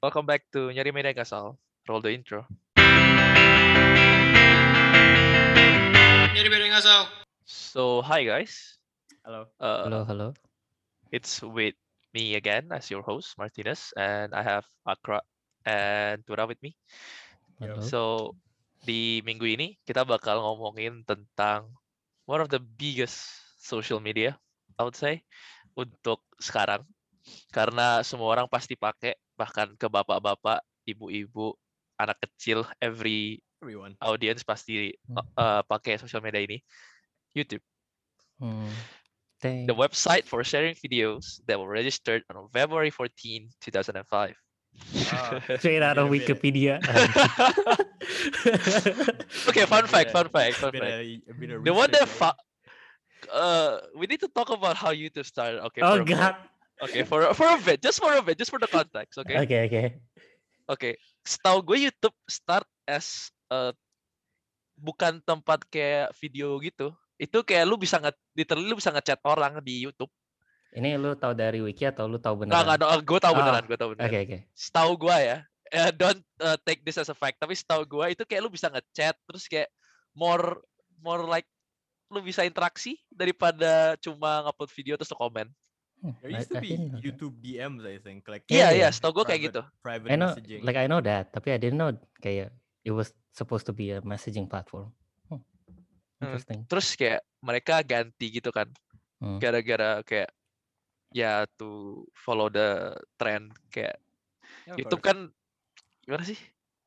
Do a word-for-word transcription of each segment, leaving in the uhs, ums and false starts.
Welcome back to Nyari Media Kasal. Roll the intro. Nyari Media Kasal. So, hi guys. Hello. Uh, Hello, hello. It's with me again as your host, Martinez, and I have Akra and Tura with me. Hello. So, di minggu ini kita bakal ngomongin tentang one of the biggest social media, I would say, untuk sekarang. Karena semua orang pasti pakai, bahkan ke bapak-bapak, ibu-ibu, anak kecil, every Everyone. audience pasti Hmm. uh, pakai social media ini, YouTube. Hmm. The Thanks. website for sharing videos that were registered on February fourteenth, two thousand five. Ah, Straight out of bit a bit. Wikipedia. Okay, fun A bit fact, a- fun fact, fun bit fact. a- a bit of The one that research, fa- uh, we need to talk about how YouTube started. Okay, oh for a bit. God. Okay, for for a bit, just for a bit, just for the context. Okay, Okay, okay. okay. Setahu gue YouTube start as uh, bukan tempat kayak video gitu. Itu kayak lu bisa nge, literally lu bisa ngechat orang di YouTube. Ini lu tahu dari wiki atau lu tahu Nggak, beneran? nggak, gue tahu Oh, beneran, gue tahu beneran. Oke, oke. Setahu gue ya, eh, don't uh, take this as a fact, tapi setahu gue itu kayak lu bisa ngechat, terus kayak more more like lu bisa interaksi daripada cuma ngupload video terus lu komen. Hmm, There I- used to I be didn't know that. YouTube D Ms, I think, like Iya, Yeah, iya, yeah. setahu gue kayak private, gitu. private I know, messaging. like I know that, tapi I didn't know kayak it was supposed to be a messaging platform. Hmm. Hmm, Interesting. Terus kayak mereka ganti gitu kan, Hmm. gara-gara kayak ya to follow the trend kayak Yeah, of YouTube course. kan gimana sih?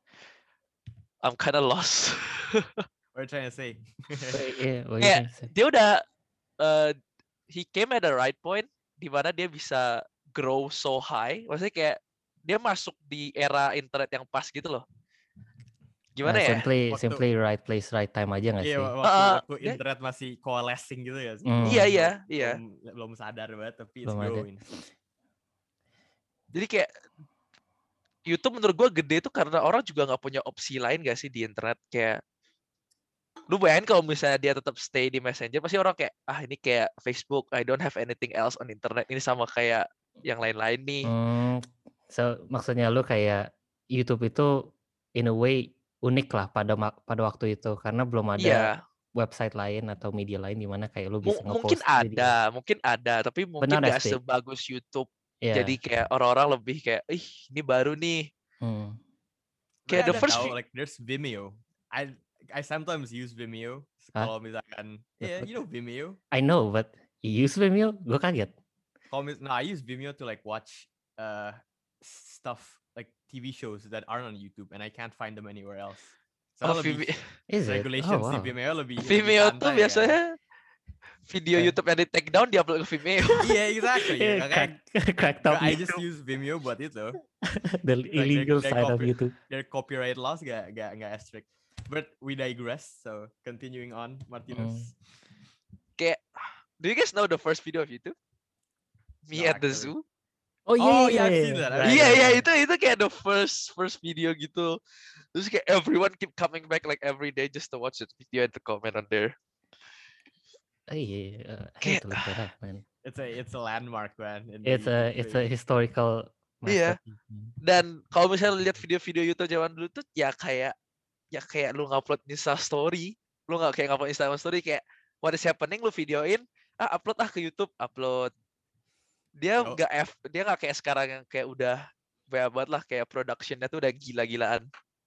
I'm kinda lost. What are you trying to say? Wait, yeah, what you Kayak trying to say? dia udah uh, he came at the right point di mana dia bisa grow so high. Maksudnya kayak dia masuk di era internet yang pas gitu loh. Gimana Uh, ya? simply, Waktu- simply right place, right time aja nggak Iya, sih? waktu, Uh, waktu dia- internet masih coalescing gitu ya sih. Hmm. Iya, Belum- iya, iya. Belum, belum sadar banget, tapi it's Belum ada. growing. Jadi kayak YouTube menurut gue gede tuh karena orang juga nggak punya opsi lain gak sih di internet. Kayak lu bayangin kalau misalnya dia tetap stay di Messenger, pasti orang kayak ah ini kayak Facebook, I don't have anything else on internet. Ini sama kayak yang lain-lain nih. Hmm, so maksudnya lu kayak YouTube itu in a way unik lah pada ma- pada waktu itu karena belum ada Iya, website lain atau media lain di mana kayak lu mu- bisa mungkin nge-post video. ada, mungkin ada, tapi mungkin not nggak as big. sebagus YouTube. Yeah. Jadi kayak orang-orang lebih kayak, ih ini baru nih. Hmm. Kayak Kayak the ada first tahu, vi- like there's Vimeo. I I sometimes use Vimeo. Hah? Kalau misalkan, The yeah, fuck? you know Vimeo. I know, but you use Vimeo? Gue kaget. Kalau mis- no, I use Vimeo to like watch uh stuff like T V shows that aren't on YouTube, and I can't find them anywhere else. So Oh, lebih Vimeo, Is it? regulations Oh, di wow. Vimeo lebih Vimeo lebih tuh santai, kan? biasanya video Eh. YouTube yang di take down diupload ke Vimeo. Iya, exactly. Eh, Makanya crack, crack top I just YouTube. use Vimeo buat itu. The Like, illegal their- their side of copy- YouTube. Their copyright laws gak gak gak as strict. But we digress. So continuing on, Martinez. Kayak, do you guys know the first video of YouTube? Me No, at the actually. zoo. Oh iya, Oh, iya, yeah, I've iya. seen that, I've Right, Iya seen right, iya right. itu itu kayak the first first video gitu. Terus kayak everyone keep coming back like every day just to watch that video and to comment on there. Oh, iya, iya. Uh, I have Kayak- to look that up, man. It's a it's a landmark, man. in the It's a YouTube it's a space. historical Iya. masterpiece. man. Dan kalau misalnya lihat video-video YouTube zaman dulu tuh ya kayak ya kayak lu ngupload Insta story, lu nggak kayak ngupload Instagram story kayak what is happening lu videoin, ah upload ah ke YouTube, upload. Dia Oh. nggak F, dia nggak kayak sekarang yang kayak udah banyak banget lah kayak productionnya tuh udah gila-gilaan.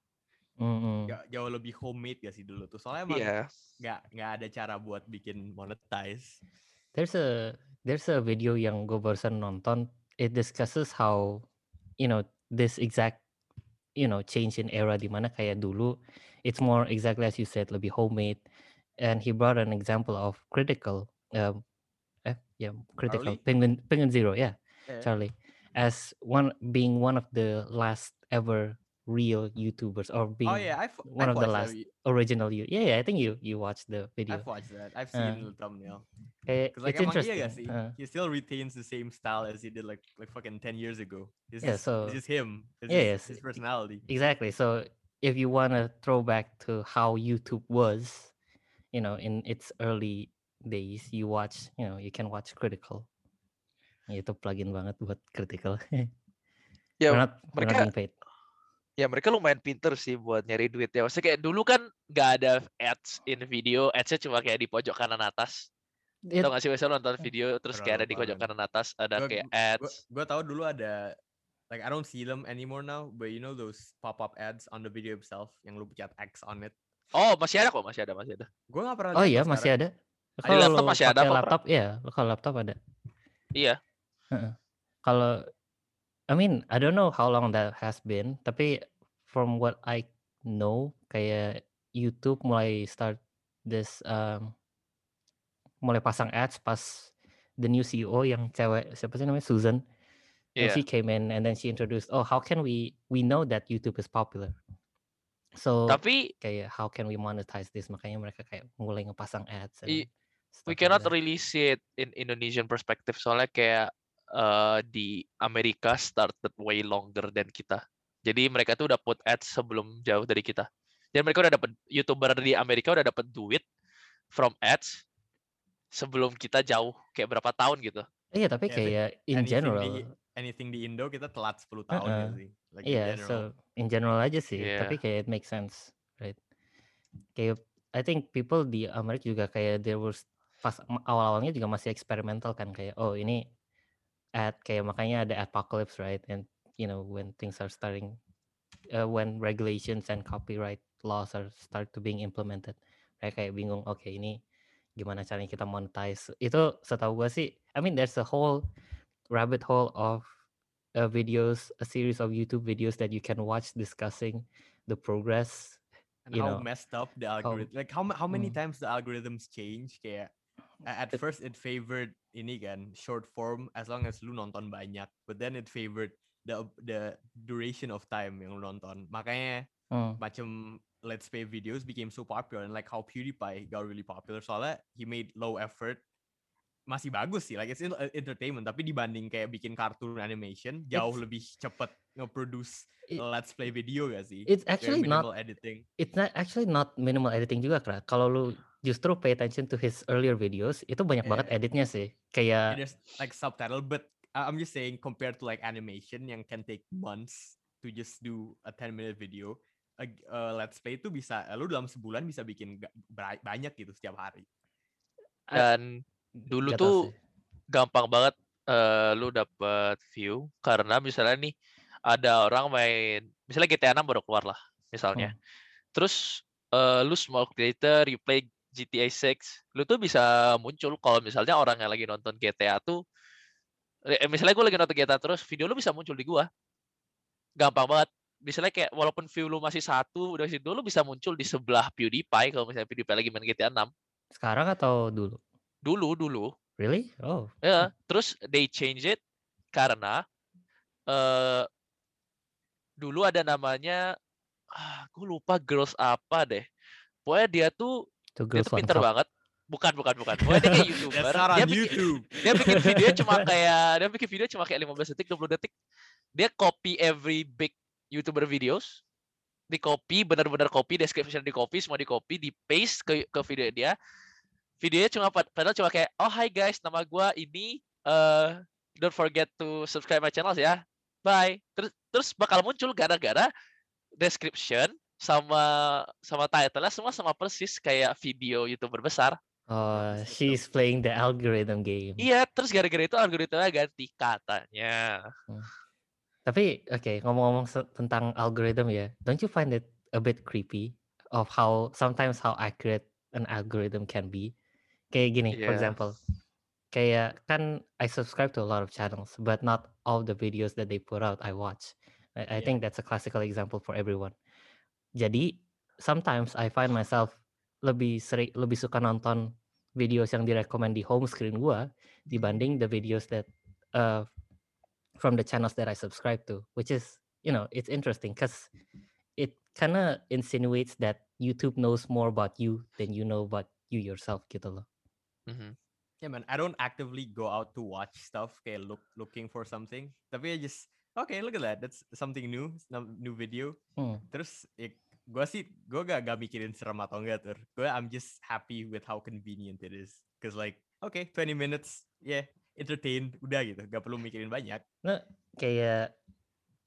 Mm-mm. Jauh, jauh lebih homemade gak sih dulu tuh? Soalnya emang Iya. nggak nggak ada cara buat bikin monetize. There's a there's a video yang gue barusan nonton. It discusses how you know this exact you know change in era di mana kayak dulu it's more exactly as you said lebih homemade, and he brought an example of Critical. Um, eh, yeah, Critical Charlie? Penguin Penguin Zero, yeah, Eh, Charlie, as one being one of the last ever real YouTubers or being Oh yeah, I've one I've of the watched last that. original you. Yeah, yeah, I think you you watched the video. I've watched that. I've Uh, seen the thumbnail. Kayak, Cause like it's emang interesting. iya gak sih? Uh, He still retains the same style as he did like like fucking ten years ago. It's Yeah, just, so- it's just him. It's Yeah, just yes. his personality. Exactly. So if you want to throw back to how YouTube was, you know, in its early days, you watch, you know, you can watch Critical. Itu plugin banget buat Critical. Ya We're not we're not mereka being paid. ya mereka lumayan pinter sih buat nyari duit ya. Maksudnya kayak dulu kan nggak ada ads in video, ads-nya cuma kayak di pojok kanan atas. It, Tau gak sih misalnya nonton video terus kayak ada di Lupa, pojok man. kanan atas ada Gue kayak gue ads. gue tahu dulu ada like I don't see them anymore now, but you know those pop-up ads on the video itself yang lu pencet X on it. Oh masih ada kok, masih ada, masih ada. Gue nggak pernah oh lihat iya loh masih sekarang. ada. Di Kalau laptop lo masih ada pakai kok, Pra. laptop ya, kalau laptop ada. Iya. Heeh. Kalau I mean, I don't know how long that has been, tapi from what I know, kayak YouTube mulai start this um, mulai pasang ads pas the new C E O yang cewek siapa sih namanya Susan, and Iya. she came in and then she introduced, oh how can we we know that YouTube is popular, so Tapi kayak how can we monetize this, makanya mereka kayak mulai ngepasang ads and i- we stuff like cannot that. really see it in Indonesian perspective soalnya kayak uh, di Amerika started way longer than kita. Jadi mereka tuh udah put ads sebelum jauh dari kita. Dan mereka udah dapat YouTuber di Amerika udah dapat duit from ads sebelum kita jauh kayak berapa tahun gitu. Iya tapi Yeah, I think kayak in anything general, di anything di Indo kita telat sepuluh tahun uh-uh. ya sih. Like in Iya, general. so in general aja sih, Iya. tapi kayak it makes sense, right? Kayak I think people di Amerika juga kayak there was pas m- awal-awalnya juga masih eksperimental kan, kayak oh ini ad, kayak makanya ada apocalypse, right? And you know when things are starting, uh, when regulations and copyright laws are start to being implemented, mereka kayak bingung, oke ini gimana caranya kita monetize. Itu setahu gue sih, I mean there's a whole rabbit hole of uh, videos, a series of YouTube videos that you can watch discussing the progress, And you how know, messed up the how algorithm. Like how ma- how many mm, times the algorithms change kayak a- at it- first it favored ini kan short form as long as lu nonton banyak, but then it favored the the duration of time yang lu nonton. Makanya mm, macam let's play videos became so popular, and like how PewDiePie got really popular soalnya he made low effort, masih bagus sih, like it's in- uh, entertainment, tapi dibanding kayak bikin kartun animation jauh It's- lebih cepet nge-produce It- let's play video gak sih? it's Very actually minimal not editing. it's not actually not minimal editing juga, Kra. Kalau lu justru pay attention to his earlier videos, itu banyak banget Yeah. editnya sih. Yeah, Kayak there's like subtitle, but I- I'm just saying compared to like animation yang can take months to just do a ten minute video, a, uh, let's play itu bisa lu dalam sebulan bisa bikin ga- ba- banyak gitu setiap hari. Dan dulu gak tau tuh sih. gampang banget eh, lu dapet view karena misalnya nih ada orang main misalnya G T A enam baru keluar lah misalnya. Hmm. Terus eh, lu small creator, you play G T A six, lu tuh bisa muncul kalau misalnya orang yang lagi nonton G T A tuh eh, misalnya gue lagi nonton G T A terus video lu bisa muncul di gua. Gampang banget. Misalnya kayak walaupun view lu masih satu, udah situ lu bisa muncul di sebelah PewDiePie kalau misalnya PewDiePie lagi main G T A enam. Sekarang atau dulu? Dulu dulu. Really? Oh. Ya, terus they change it karena eh dulu ada namanya ah, gue lupa girls apa deh. Pokoknya dia tuh Two dia girls tuh one pinter cup. banget. Bukan, bukan, bukan. Pokoknya dia kayak YouTuber. That's not Dia on bikin, YouTube. dia bikin video cuma kayak dia bikin video cuma kayak lima belas detik, dua puluh detik. Dia copy every big YouTuber videos. Di copy, benar-benar copy, description di copy, semua di copy, di paste ke ke video dia. Videonya cuma padahal cuma kayak, "Oh, hi guys, nama gua ini uh, don't forget to subscribe my channel ya. Bye." Terus terus bakal muncul gara-gara description sama sama title-nya semua sama persis kayak video YouTuber besar. Oh, Bagus, she's playing the algorithm game. Iya, terus gara-gara itu algoritmanya ganti katanya. Hmm. Tapi oke, ngomong-ngomong se- tentang algorithm ya, don't you find it a bit creepy of how sometimes how accurate an algorithm can be? Kayak gini, for Iya. example, kayak kan I subscribe to a lot of channels, but not all the videos that they put out I watch. I, I Yeah. think that's a classical example for everyone. Jadi sometimes I find myself lebih sering lebih suka nonton videos yang direkomend di home screen gua dibanding the videos that uh, from the channels that I subscribe to, which is, you know, it's interesting because it kind of insinuates that YouTube knows more about you than you know about you yourself gitu loh. Mhm. Yeah man, I don't actively go out to watch stuff kayak look looking for something. Tapi I just okay, look at that. That's something new, some new video. Hmm. Terus ya, gue sih gue gak, gak mikirin serem atau enggak tuh. Gue I'm just happy with how convenient it is. Cause like okay, twenty minutes, yeah, entertained, udah gitu. Gak perlu mikirin banyak. Nah, kayak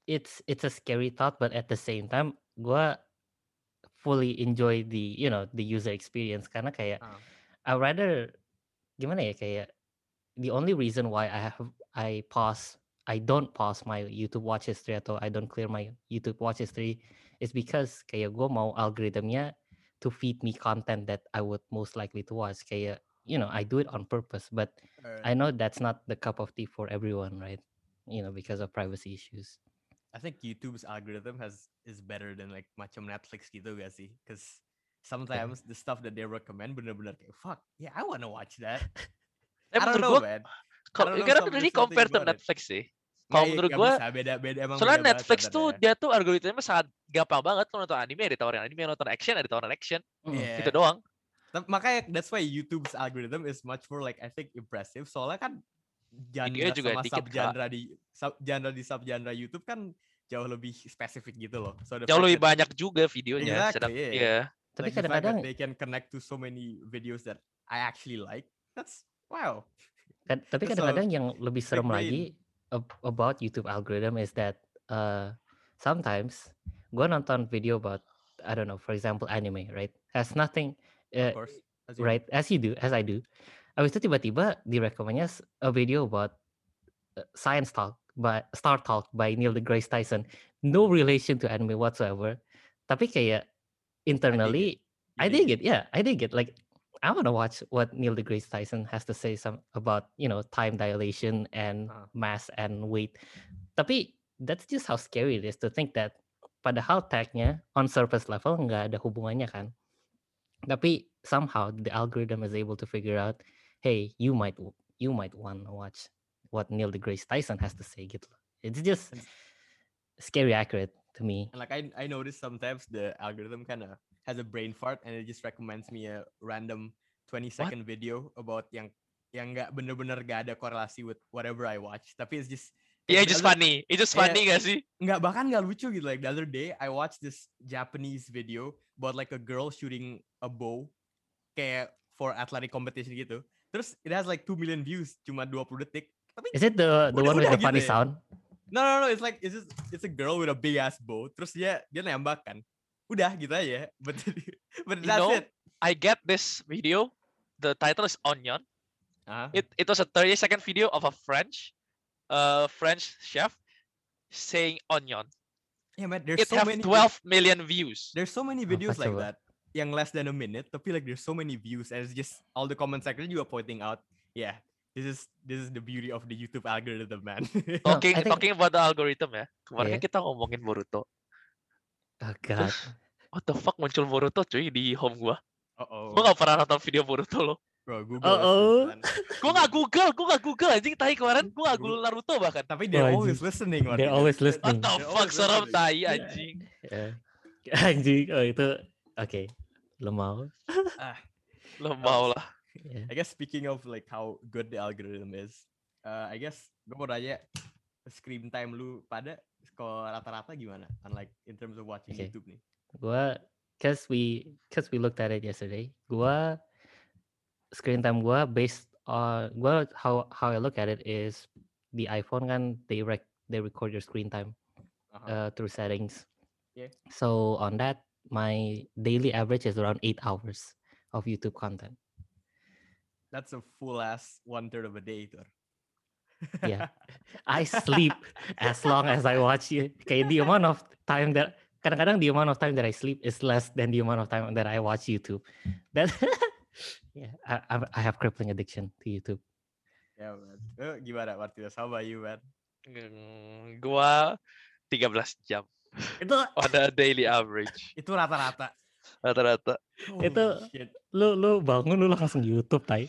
it's it's a scary thought, but at the same time, gua fully enjoy the you know the user experience karena kayak Ah. I rather gimana ya kayak the only reason why I have I pause I don't pause my YouTube watch history atau I don't clear my YouTube watch history is because kayak gue mau algorithmnya to feed me content that I would most likely to watch. Kayak you know I do it on purpose, but Alright. I know that's not the cup of tea for everyone, right? You know because of privacy issues. I think YouTube's algorithm has is better than like macam Netflix gitu gak sih? Because sometimes the stuff that they recommend bener-bener kayak fuck, yeah, I wanna watch that. Tapi I don't menurut know, gue, man. I kalau don't know karena some really there's something compare to about it. Netflix sih. Nggak, Kalau iya, menurut nggak gue, bisa beda beda emang soalnya beda banget Netflix tuh contennya. dia tuh algoritmanya sangat gampang banget. Kalau nonton anime ditawarin anime, nonton action ada ditawarin action, Mm. Yeah. gitu doang. Tapi makanya that's why YouTube's algorithm is much more like I think impressive. Soalnya kan genre Videonya juga sama dikit, sub genre di sub genre di sub genre YouTube kan jauh lebih spesifik gitu loh. So the Jauh fact lebih that banyak juga videonya. Sedang, exactly, yeah. iya. Tapi Like the fact that kadang-kadang they can connect to so many videos that I actually like. That's wow. Kad- tapi That's a kadang-kadang yang lebih big serem brain. lagi ab- about YouTube algorithm is that uh, sometimes gue nonton video about I don't know, for example, anime, right? Has nothing, Of uh, course. As you do. right? As you do, as I do. Abis itu tiba-tiba direkomendnya s- a video about uh, science talk by Star Talk by Neil deGrasse Tyson. No relation to anime whatsoever. Tapi kayak internally, You I dig dig it. Yeah, I dig it. Like I want to watch what Neil deGrasse Tyson has to say some about you know time dilation and Uh-huh. mass and weight. Tapi that's just how scary it is to think that padahal tagnya on surface level nggak ada hubungannya kan. Tapi somehow the algorithm is able to figure out, hey, you might w- you might want to watch what Neil deGrasse Tyson has to say gitu. It's just And- scary accurate to me. And like I I noticed sometimes the algorithm kind of has a brain fart and it just recommends me a random twenty second video about yang yang nggak bener-bener gak ada korelasi with whatever I watch. Tapi it's just Iya, kayak it's just the other- funny. It's just Yeah. funny gak sih? nggak bahkan nggak lucu gitu. Like the other day I watched this Japanese video about like a girl shooting a bow kayak for athletic competition gitu. Terus it has like two million views cuma dua puluh detik. Tapi Is it the the Udah- one with udah the funny gitu ya. sound? no no no it's like it's just it's a girl with a big ass bow. Terus dia dia nembak kan. Udah gitu aja. But but You that's know, it. I get this video. The title is Onion. Uh-huh. It it was a thirty second video of a French, uh, French chef saying onion. Yeah, man, there's It so have many twelve million views. there's so many Oh, videos like coba. that yang less than a minute tapi like there's so many views and it's just all the comment section juga pointing out yeah this is this is the beauty of the YouTube algorithm, man. No, Talking I think- talking about the algorithm ya. Kemarin Yeah. kan kita ngomongin Boruto. Oh god. Terus what the fuck muncul Boruto cuy di home gua. Uh-oh. Gua gak pernah nonton video Boruto loh. Bro, Google Uh-oh. listens, man. Gua gak Google, gua gak Google anjing tai kemarin. Gua gak Google. Google Naruto bahkan. Tapi they're Wah, always anjing. listening, They're Martinez. always They're- listening. What the they're fuck always serem listening. tai anjing. Yeah. Anjing, oh itu oke. Lemau. Ah, Lemau lah. Yeah. I guess speaking of like how good the algorithm is, uh, I guess gue mau nanya screen time lu pada kalau rata-rata gimana? Unlike in terms of watching Okay. YouTube nih. Gua cause we cause we looked at it yesterday. Gua screen time gua based on gua how how I look at it is the iPhone kan they rec they record your screen time Uh-huh. uh, through settings. Yeah. So on that my daily average is around eight hours of YouTube content. That's a full ass one third of a day, Tor. Yeah. I sleep as long as I watch it. Kayak the amount of time that kadang-kadang the amount of time that I sleep is less than the amount of time that I watch YouTube. That yeah, I, I- I have crippling addiction to YouTube. Ya, man. Eh, gimana, Martinez? How about you, man? Hmm, Gua tiga belas jam Itu on a daily average. Itu rata-rata. Rata-rata. Itu- Holy shit. lu lu bangun lu langsung YouTube tai.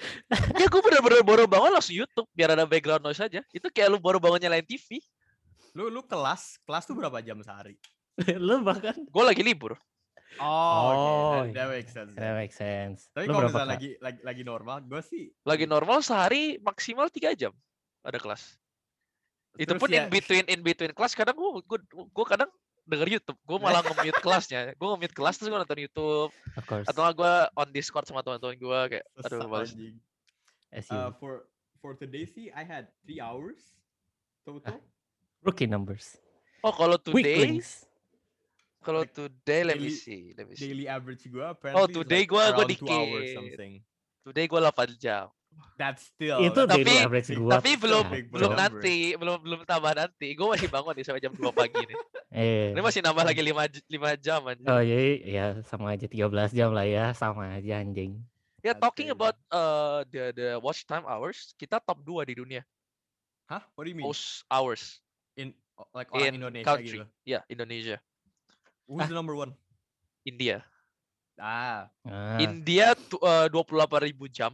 Ya gue bener-bener baru bangun langsung YouTube biar ada background noise aja. Itu kayak lu baru bangun nyalain T V. Lu lu kelas, kelas tuh berapa jam sehari? Lu bahkan Gue lagi libur. Oh, Oh, okay. That, that iya. makes sense. that makes sense. Tapi Lu kalau berapa misalnya Kak? lagi, lagi lagi normal, gue sih Lagi normal sehari maksimal tiga jam ada kelas. Itu terus pun ya- in between in between kelas kadang gue gue, gue kadang denger YouTube. Gue malah nge-mute kelasnya. Gue nge-mute kelas terus gue nonton YouTube. Of course. Atau gue on Discord sama teman-teman gue kayak aduh Sesat males. anjing. As you Uh, for for today sih I had three hours total. rookie numbers. Oh, kalau today, Weaklings. kalau Like today, let me daily see, let me see. daily average gue Oh, apparently is today like gua gua around two hours dikit. something. Today gua delapan jam. That's still Itu that's daily Tapi still average big. gua. tapi That's still belum big for a belum Cok. number. nanti, belum belum tambah nanti. Gue masih bangun nih sampai jam dua pagi nih. Ini Eh. masih nambah lagi lima lima jam anjir. Oh jadi ya sama aja tiga belas jam lah ya, sama aja anjing. Ya, That's talking crazy. about uh, the the watch time hours, kita top dua di dunia. Huh? What do you mean? Most hours In like orang in Indonesia country. gitu. Ya, Indonesia. Who's Ah. the number one? India. Ah, Ah, India tu- uh, dua puluh delapan ribu jam.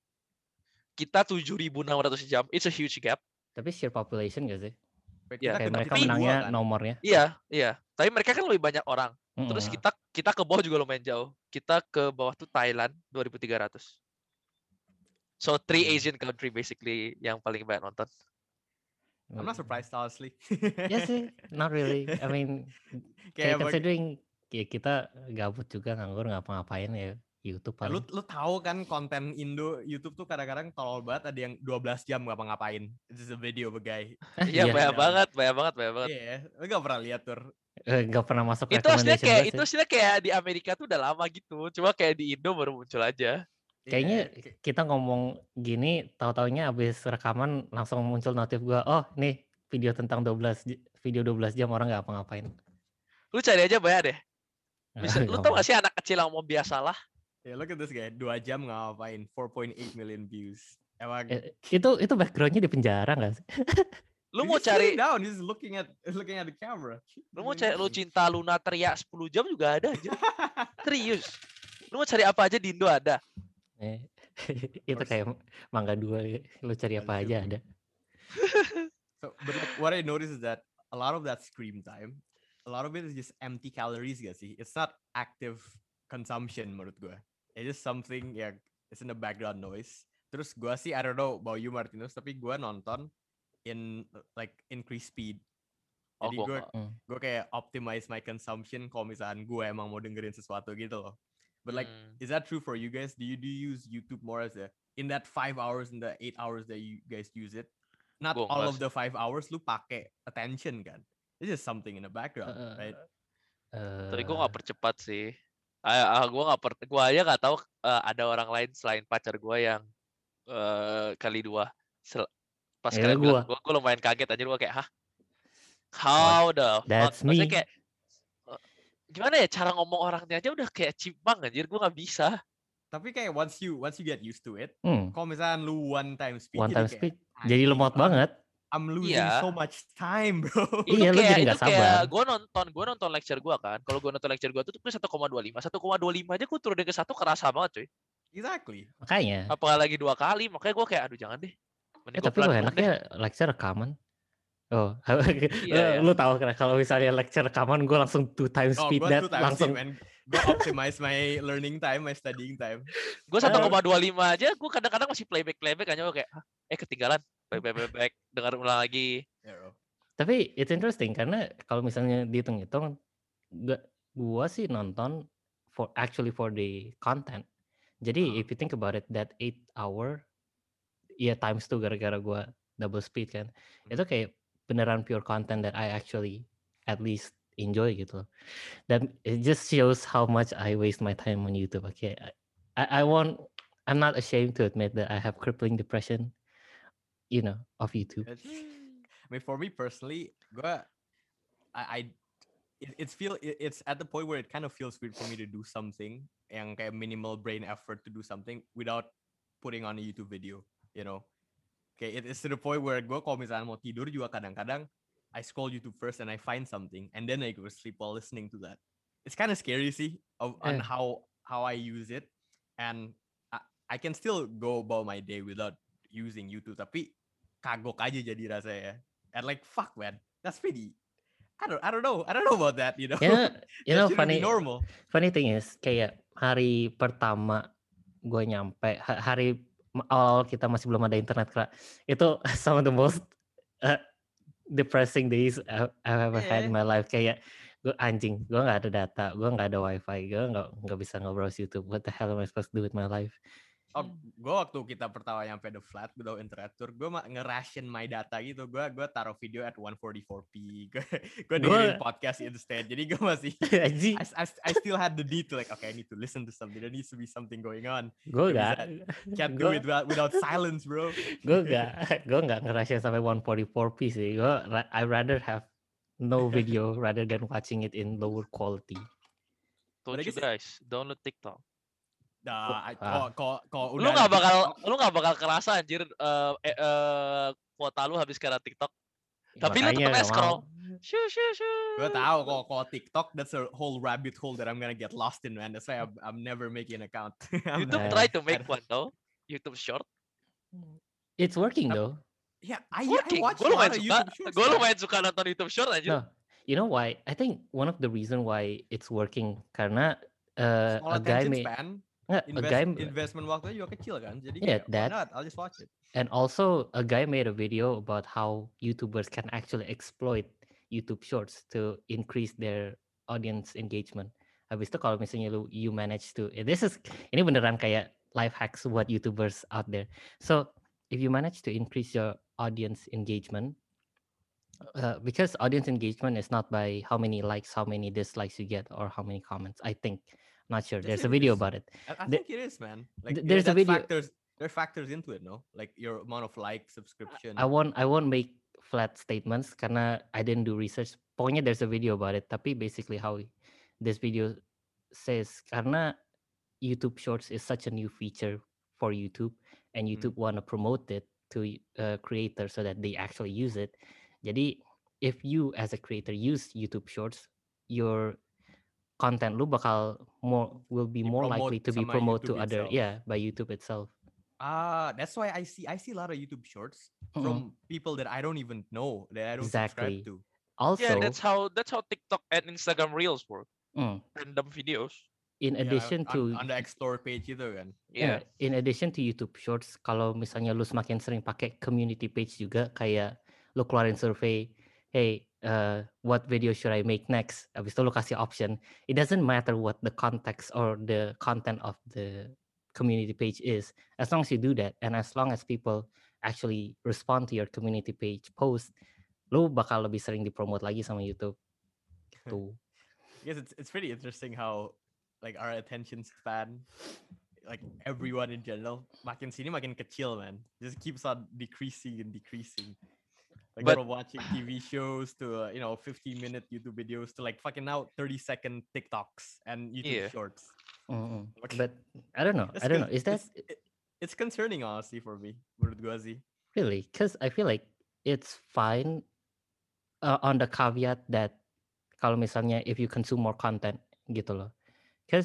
Kita tujuh ribu enam ratus jam. It's a huge gap. tapi sheer population gak sih? wait, Ya, kita Kayak kita mereka tapi- kedua menangnya kan? nomornya. Iya, iya. Tapi mereka kan lebih banyak orang. Terus Mm-mm. kita kita ke bawah juga lumayan jauh. Kita ke bawah tuh Thailand dua ribu tiga ratus. So three Hmm. Asian country basically yang paling banyak nonton. I'm not surprised honestly. Ya sih, not really. I mean, Kayak kayak bagi- considering ya kita gabut juga nganggur ngapa-ngapain ya YouTube Ya, lu paling. lu tahu kan konten Indo YouTube tuh kadang-kadang tolol banget, ada yang dua belas jam ngapa-ngapain. It's just a video of a guy. Ah, Iya, iya, banyak Jam. banget, banyak banget, banyak banget. Iya, lu gak pernah lihat tur. Eh, nggak pernah masuk Itu aslinya recommendation kayak gue itu sih. aslinya kayak di Amerika tuh udah lama gitu. Cuma kayak di Indo baru muncul aja. Kayaknya Iya, kayak- kita ngomong gini, tahu-taunya abis rekaman langsung muncul notif gua. Oh, nih video tentang dua belas j- video dua belas jam orang nggak apa-ngapain. Lu cari aja banyak deh. Misal, lu Nggak tau mau. gak sih anak kecil yang mau biasalah? ya look at this guy, dua jam ngapain, four point eight million views. Emang Eh, itu itu backgroundnya di penjara nggak sih? Lu he's mau just sitting cari down, he's looking at looking at the camera. lu mau Doing cari lu nothing. cinta Luna teriak sepuluh jam juga ada aja. Serius. Lu mau cari apa aja di Indo ada. Eh, itu course. kayak mangga dua, ya. Lu cari apa That's aja true. ada. So, but like what I noticed is that a lot of that screen time, a lot of it is just empty calories gak sih? It's not active consumption menurut gue. It's just something ya, it's in the background noise. Terus gue sih, I don't know about you Martinus, tapi gue nonton in like increase speed. Oh, Jadi gua gue nggak. Hmm. gue kayak optimize my consumption kalau misalkan gue emang mau dengerin sesuatu gitu loh. But like, Hmm. is that true for you guys? Do you do you use YouTube more as a in that five hours in the eight hours that you guys use it? Not Gua all nggak of the five hours lu pakai attention kan? It's just something in the background, Eh, right? Tapi gue eh, nggak percepat sih. Ah, ah, gue nggak per, gue aja nggak tahu eh, ada orang lain selain pacar gue yang eh, kali dua. Sel- pas Ya, kalian bilang gua. gue, gue lumayan kaget aja. Gue kayak, hah? How the fuck? That's Maksudnya me. kayak eh, gimana ya cara ngomong orangnya aja udah kayak cipang anjir. Gue nggak bisa. Tapi kayak once you once you get used to it, Hmm, kalau misalkan lu one time speed, one jadi time kayak, speed. Jadi "Anjing, lemot I'm- banget. I'm losing Iya. so much time, bro. Itu Iya, lu kayak jadi itu nggak kayak sabar. gue nonton gue nonton lecture gue kan. Kalau gue nonton lecture gue tuh tuh satu koma dua lima, satu koma dua lima aja gue turunin ke satu kerasa banget cuy. Exactly. Makanya. Apalagi dua kali, makanya gue kayak aduh jangan deh. Mending Eh, gue tapi lu pelan-pelan deh. enaknya lecture rekaman. Oh, Iya, lu, lu tahu kan kalau misalnya lecture rekaman gue langsung two times Oh, speed gue that two times langsung. speed, man. Gue optimize my learning time, my studying time. Gue Eh. satu koma dua lima aja, gue kadang-kadang masih playback playback aja gue kayak, "Hah, eh ketinggalan, playback playback, dengar ulang lagi. Yeah, bro. Tapi it's interesting karena kalau misalnya dihitung-hitung, gua, gua sih nonton for actually for the content. Jadi Ah. if you think about it, that eight hour, ya times two gara-gara gua double speed kan, Hmm. itu kayak beneran pure content that I actually at least enjoy gitu. Dan it just shows how much I waste my time on YouTube. Okay, I, I, I won't, I'm not ashamed to admit that I have crippling depression, you know, of YouTube. It's, I mean, for me personally, gue, I, I it, it's feel it, it's at the point where it kind of feels weird for me to do something yang kayak minimal brain effort to do something without putting on a YouTube video, you know. Kayak it is to the point where gue kalau misalnya mau tidur juga kadang-kadang I scroll YouTube first and I find something and then I go to sleep while listening to that. It's kind of scary sih of on Eh. how how I use it, and I, I can still go about my day without using YouTube, tapi kagok aja jadi rasanya. And like fuck man, that's pretty. I don't I don't know I don't know about that, you know. Ya, you That know, shouldn't be funny, normal. funny thing is kayak hari pertama gue nyampe, ha- hari awal kita masih belum ada internet kak, itu some of the most uh, depressing days I- I've ever had in my life. Kayak gue anjing, gue nggak ada data, gue nggak ada wifi, gue nggak nggak bisa nge-browse YouTube. What the hell am I supposed to do with my life? Oh, gue waktu kita pertama nyampe the flat, gue udah internet tour, gue mah nge-ration my data gitu. Gue gue taruh video at one forty-four p. Gue gue dengerin Gue podcast instead. Jadi gue masih Aji, I, I, I still had the need to like, okay, I need to listen to something. There needs to be something going on. gue Gak gak, bisa, can't do gue it without, without silence, bro. gue gak, gue gak ngerasain sampai one forty-four p sih. Gue I rather have no video rather than watching it in lower quality. Told But I you guess it- guys, download TikTok. Nah, I- Ah. kok kok kok Lu udah nggak ada bakal, TikTok, lu nggak bakal kerasa anjir eh eh, eh, kuota lu habis karena TikTok. Ya, Tapi lu makanya tetap aja gak scroll. mau. Shoo, shoo, shoo. gue tahu kok kok TikTok, that's a whole rabbit hole that I'm gonna get lost in, man. That's why I'm, I'm never making an account. I'm YouTube Nah. try to make I- one though. YouTube Short. It's working Tapi- though. Yeah, I, It's I working. watch Gue a lot lumayan of suka. YouTube shorts. Gue man. lumayan suka nonton YouTube Short anjir. No, you know why? I think one of the reason why it's working karena uh, Small a guy attention made span, nggak, a invest, guy investment waktunya juga kecil kan. Jadi Yeah, kayak, why that- not? I'll just watch it. and also a guy made a video about how YouTubers can actually exploit YouTube Shorts to increase their audience engagement. Habis itu kalau misalnya lu you manage to eh, this is ini beneran kayak life hacks buat YouTubers out there. So if you manage to increase your audience engagement, uh, because audience engagement is not by how many likes, how many dislikes you get, or how many comments. I think, not sure. Yes, There's it a video is. about it. I, I The- think it is, man. Like th- yeah, there's a that video- factors. There are factors into it, no? Like your amount of like, subscription. I won't I won't make flat statements karena I didn't do research. Pokoknya there's a video about it. Tapi basically how this video says karena YouTube Shorts is such a new feature for YouTube and YouTube want to promote it to uh, creators so that they actually use it. Jadi if you as a creator use YouTube Shorts, your content lu bakal more will be more Dipromote likely to be sama promoted to YouTube other itself. yeah by YouTube itself. Ah, that's why I see I see a lot of YouTube shorts Mm-mm. from people that I don't even know, that I don't Exactly. subscribe to. Also, Yeah, that's how that's how TikTok and Instagram Reels work. mm, Random videos. in Yeah, addition on, to on the explore page itu kan. Yeah. yeah, in addition to YouTube Shorts, kalau misalnya lu semakin sering pakai community page juga, kayak lu keluarin survei, hey, uh, what video should I make next? Abis itu lu kasih option. It doesn't matter what the context or the content of the community page is, as long as you do that, and as long as people actually respond to your community page post, lu bakal lebih sering dipromote lagi sama YouTube. Gitu. I guess it's it's pretty interesting how like our attention span, like everyone in general, makin sini makin kecil, man. Just keeps on decreasing and decreasing. Like But- from watching T V shows to uh, you know fifteen minute YouTube videos to like fucking now thirty second TikToks and YouTube Yeah. shorts. Mm-mm. Okay. But I don't know. That's I don't know. good. Is that It's, it- it's concerning honestly for me, menurut gua sih. really? Because I feel like it's fine uh, on the caveat that kalau misalnya if you consume more content gitu loh. Because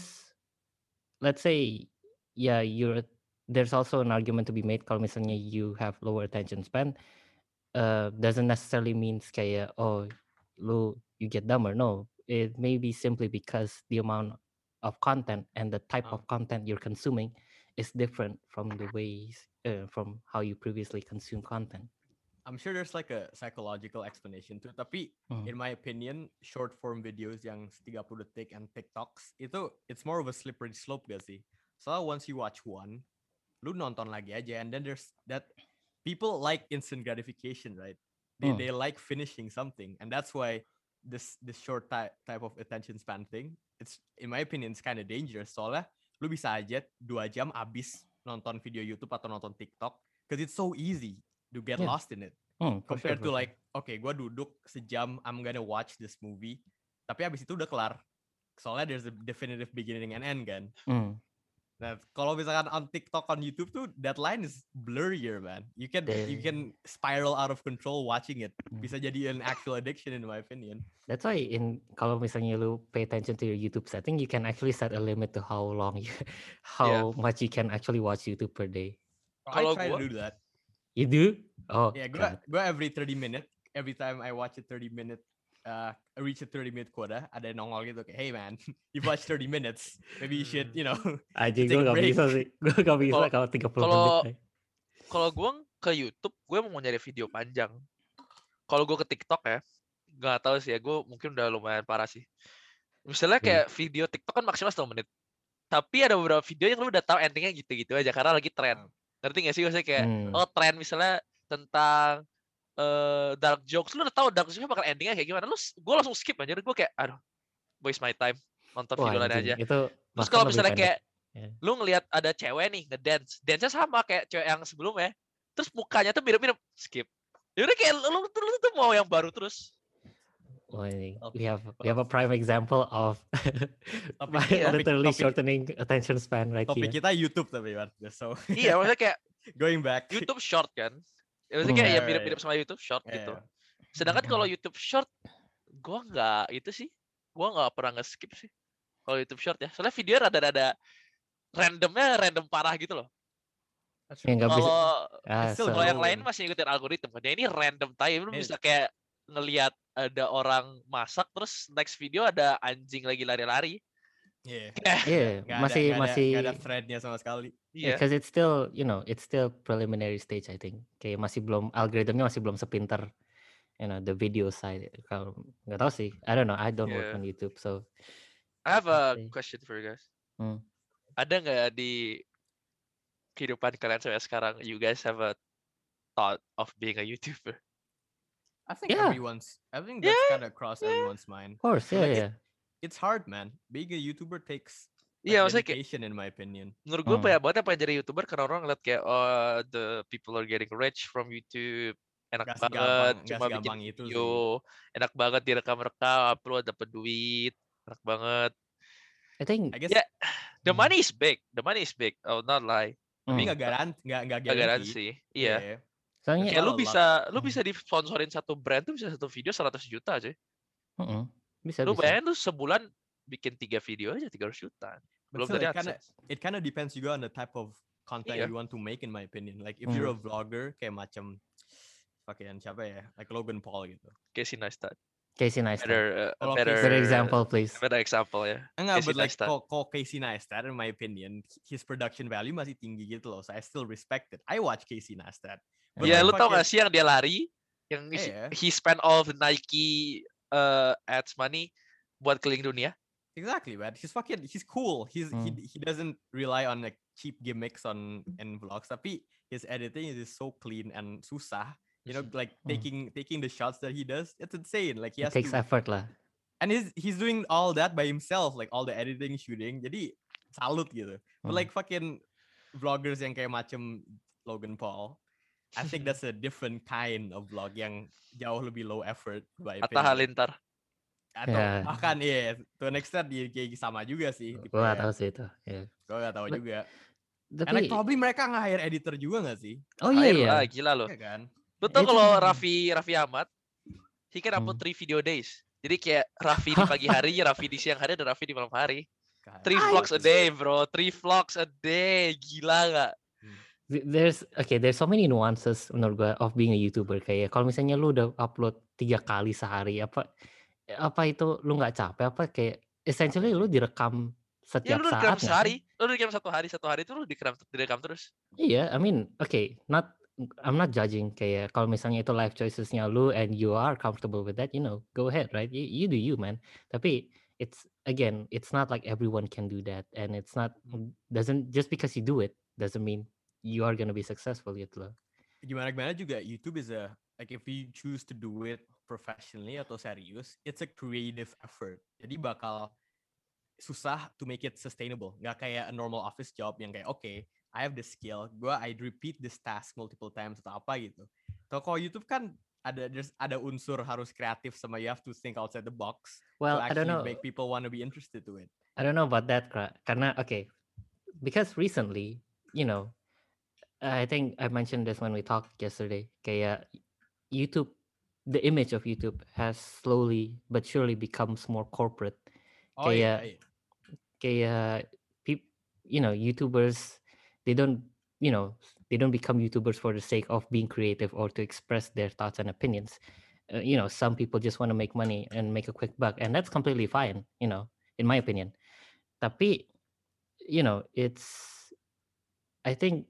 let's say yeah, you're there's also an argument to be made kalau misalnya you have lower attention span, uh, doesn't necessarily means kayak oh lu you get dumber. No, it may be simply because the amount of content and the type Ah. of content you're consuming is different from the ways uh, from how you previously consume content. I'm sure there's like a psychological explanation to it. Tapi Hmm. in my opinion, short form videos yang tiga puluh detik and TikToks itu it's more of a slippery slope gak sih? So once you watch one, lu nonton lagi aja, and then there's that people like instant gratification, right? They Hmm. they like finishing something, and that's why this this short type type of attention span thing, it's in my opinion it's kind of dangerous. Soalnya lu bisa aja dua jam abis nonton video YouTube atau nonton TikTok, because it's so easy to get Yeah. lost in it. Hmm, for sure, Compared for to sure. like, okay, gue duduk sejam, I'm gonna watch this movie, tapi abis itu udah kelar. Soalnya there's a definitive beginning and end kan. Hmm. Nah, kalau misalkan on TikTok, on YouTube tuh, that line is blurrier, man. You can you can spiral out of control watching it. Hmm. Bisa jadi an actual addiction in my opinion. That's why in kalau misalnya lu pay attention to your YouTube setting, you can actually set a limit to how long you, how much you can actually watch YouTube per day. Kalau I try gua- to do that. You do? Oh, Yeah, gue God. gue every thirty minute, every time I watch a thirty minute, uh, I reach a thirty minute quota, ada yang nongol gitu kayak, hey man, you've watched thirty minutes, maybe you should, you know. Anjing, take gue a gak break. bisa sih. Gue gak bisa Kalau- kalau tiga puluh kalau- menit. Kalau gue ke YouTube, gue mau nyari video panjang. Kalau gue ke TikTok ya, nggak tahu sih ya. Gue mungkin udah lumayan parah sih. Misalnya Hmm. kayak video TikTok kan maksimal satu menit. tapi ada beberapa video yang lu udah tahu endingnya gitu-gitu aja karena lagi tren. Ah. Ngerti gak sih maksudnya kayak Hmm. oh tren misalnya tentang eh dark jokes, lu udah tahu dark jokes bakal endingnya kayak gimana, lu gue langsung skip aja, gue kayak aduh waste my time nonton Wah video lain anjing, aja. itu Terus bahkan kalau lebih misalnya pendek. kayak Ya. lu ngelihat ada cewek nih ngedance, dance-nya sama kayak cewek yang sebelumnya, terus mukanya tuh mirip-mirip, skip. Yaudah kayak lu, lu, lu, lu tuh mau yang baru terus. Wah, ini Topik- we have we have a prime example of Topik- by iya. literally Topik- shortening attention span right Topik here. kita YouTube tapi Wan. So Iya, maksudnya kayak going back. YouTube short kan. Ya, maksudnya Hmm. kayak ya Iya, mirip-mirip iya. sama YouTube short Iya, gitu. iya. Sedangkan kalau YouTube short, gua nggak itu sih, gua nggak pernah nge-skip sih. Kalau YouTube short ya, soalnya video rada-rada randomnya random parah gitu loh. Ya nggak bisa. Kalau Ah, still so- kalau yang Go lain in. masih ngikutin algoritma kan. Ya ini random time, lu Eh. bisa kayak ngelihat ada orang masak terus next video ada anjing lagi lari-lari. Iya. Iya, Nggak ada- masih nggak ada- masih. nggak ada threadnya sama sekali. Iya. Because it's still, you know, it's still preliminary stage I think. Kayak masih belum algoritmnya masih belum sepinter, you know, the video side. Kalau nggak tahu sih, I don't know. I don't work Yeah. on YouTube, so. I have a Let's see. question for you guys. Hmm. Ada nggak di kehidupan kalian sampai sekarang, you guys have a thought of being a YouTuber? I think Yeah. everyone's. I think that's Yeah, kind of cross everyone's mind. Of course, But yeah, like, yeah. It's hard, man. Being a YouTuber takes Iya, like, maksudnya kayak dedication, in my opinion. menurut gue Hmm. banyak banget yang pengen jadi YouTuber karena orang ngeliat kayak oh the people are getting rich from YouTube, enak Nggak banget segampang- nggak cuma bikin segampang itu video, enak banget direkam-rekam, upload dapet duit, enak banget. I think. I guess Yeah, the Hmm. money is big, the money is big. Oh not lie, tapi Hmm. nggak garansi, nggak nggak gak guarantee. garansi. Iya. Yeah. Soalnya, Kayak lu Well, bisa, lu Hmm. bisa disponsorin satu brand tuh bisa satu video seratus juta aja. Mm-mm. bisa Lu bisa. bayangin lu sebulan bikin tiga video aja tiga ratus juta. But Belum still, tadi it kind of AdSense. it kind of depends juga on the type of content Iya. you want to make, in my opinion. Like if you're Hmm. a vlogger kayak macam pakai siapa ya, like Logan Paul gitu. Casey Neistat. Casey Neistat. Better, uh, Kalau better, Better example, please. better example ya. Enggak, Casey but like Neistat. kok kok Casey Neistat, in my opinion, his production value masih tinggi gitu loh. So I still respect it. I watch Casey Neistat. But Ya, like lu tau fucking- gak sih yang dia lari, yang he, Iya. he spent all the Nike uh, ads money buat keliling dunia. Exactly, man. He's fucking he's cool. He's Hmm. he he doesn't rely on like cheap gimmicks on in vlogs. Tapi his editing is so clean and susah. You know, like Hmm. taking taking the shots that he does, it's insane. Like he It has takes to, effort lah. and he's he's doing all that by himself, like all the editing, shooting. Jadi salut gitu. But Hmm. like fucking vloggers yang kayak macam Logan Paul, I think that's a different kind of vlog yang jauh lebih low effort by Atta opinion. Halilintar. Atau Ya. bahkan iya, to an extent dia kayak sama juga sih. Gue gak tahu sih itu. Ya. Gue gak tahu But- juga. And Tapi, like probably mereka nge-hire editor juga gak sih? oh iya Air, iya. ah, gila loh. Iya kan? Lu tau Itu- kalau Raffi Raffi Ahmad, he can upload Hmm. three video days. Jadi kayak Raffi di pagi hari, Raffi di siang hari, dan Raffi di malam hari. Kan. Three Ah, vlogs a day, bro. Three vlogs a day. Gila gak? Th- There's okay, there's so many nuances menurut gue of being a YouTuber. Kayak kalau misalnya lu udah upload tiga kali sehari, apa apa itu lu nggak capek? Apa kayak essentially lu direkam Ya setiap lu udah saat direkam nggak sih? sehari. Lu udah direkam satu hari, satu hari itu lu direkam, direkam terus. Iya, I mean, okay, not I'm not judging kayak kalau misalnya itu life choicesnya lu and you are comfortable with that, you know, go ahead, right? You, you do you, man. Tapi it's again, it's not like everyone can do that, and it's not doesn't just because you do it doesn't mean you are gonna be successful gitu loh. Gimana-gimana juga YouTube is a, like if you choose to do it professionally atau serius, it's a creative effort. Jadi bakal susah to make it sustainable. Nggak kayak a normal office job yang kayak, okay, I have the skill, gue I repeat this task multiple times atau apa gitu. So kalau YouTube kan ada there's ada unsur harus kreatif sama you have to think outside the box Well, to I don't actually know. make people want to be interested to it. I don't know about that, Kra. Karena okay, because recently, you know, I think I mentioned this when we talked yesterday. Kayak YouTube, the image of YouTube has slowly but surely becomes more corporate. Oh iya, Kayak- iya. Kayak peop, you know, YouTubers, they don't, you know, they don't become YouTubers for the sake of being creative or to express their thoughts and opinions. Uh, you know, some people just want to make money and make a quick buck, and that's completely fine. You know, in my opinion. Tapi, you know, it's, I think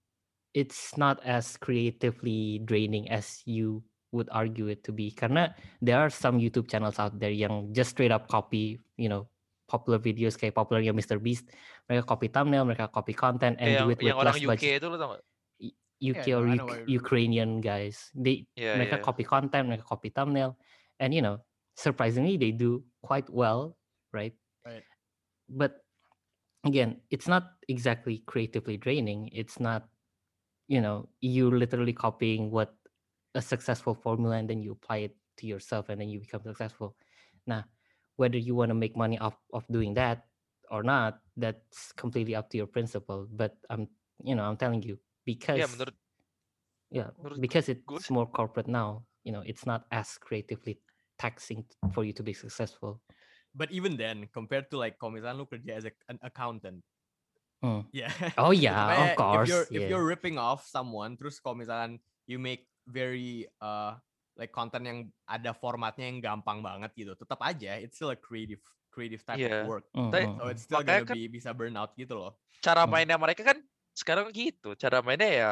it's not as creatively draining as you would argue it to be. Karena there are some YouTube channels out there yang just straight up copy, you know, popular videos kayak popularnya mister Beast, mereka copy thumbnail, mereka copy content and Kayak do yang it with yang orang less U K budget. itu lo tau gak? Y- U K Yeah, or no, I know Uk- what you're- Ukrainian guys, they Iya, mereka iya. copy content, mereka copy thumbnail, and you know, surprisingly they do quite well, right? Right. But again, it's not exactly creatively draining. It's not, you know, you literally copying what a successful formula and then you apply it to yourself and then you become successful. Now, whether you want to make money off of doing that or not, that's completely up to your principle. But I'm, you know, I'm telling you because Iya, menurut yeah, menurut because gue it's sih. more corporate now. You know, it's not as creatively taxing for you to be successful. But even then, compared to like kalau misalnya lu kerja as a, an accountant, Hmm. yeah. Oh yeah, Supaya of if course. you're if Yeah. you're ripping off someone, terus kalau misalkan you make very uh like content yang ada formatnya yang gampang banget gitu, tetap aja it's still a creative creative type Iya. of work. Hmm, Tapi hmm, So hmm. it's still makanya gonna kan be bisa burn out gitu loh. cara Hmm. mainnya mereka kan sekarang gitu. Cara mainnya ya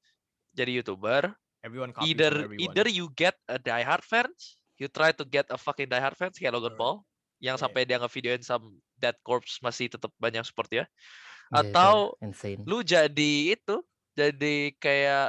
jadi YouTuber. Everyone copies Either from everyone. either you get a diehard fans, you try to get a fucking diehard fans kayak Logan Alright. Paul yang Yeah. sampai dia nge-videoin some dead corpse masih tetap banyak support ya. Yeah, itu Atau insane. lu jadi itu, jadi kayak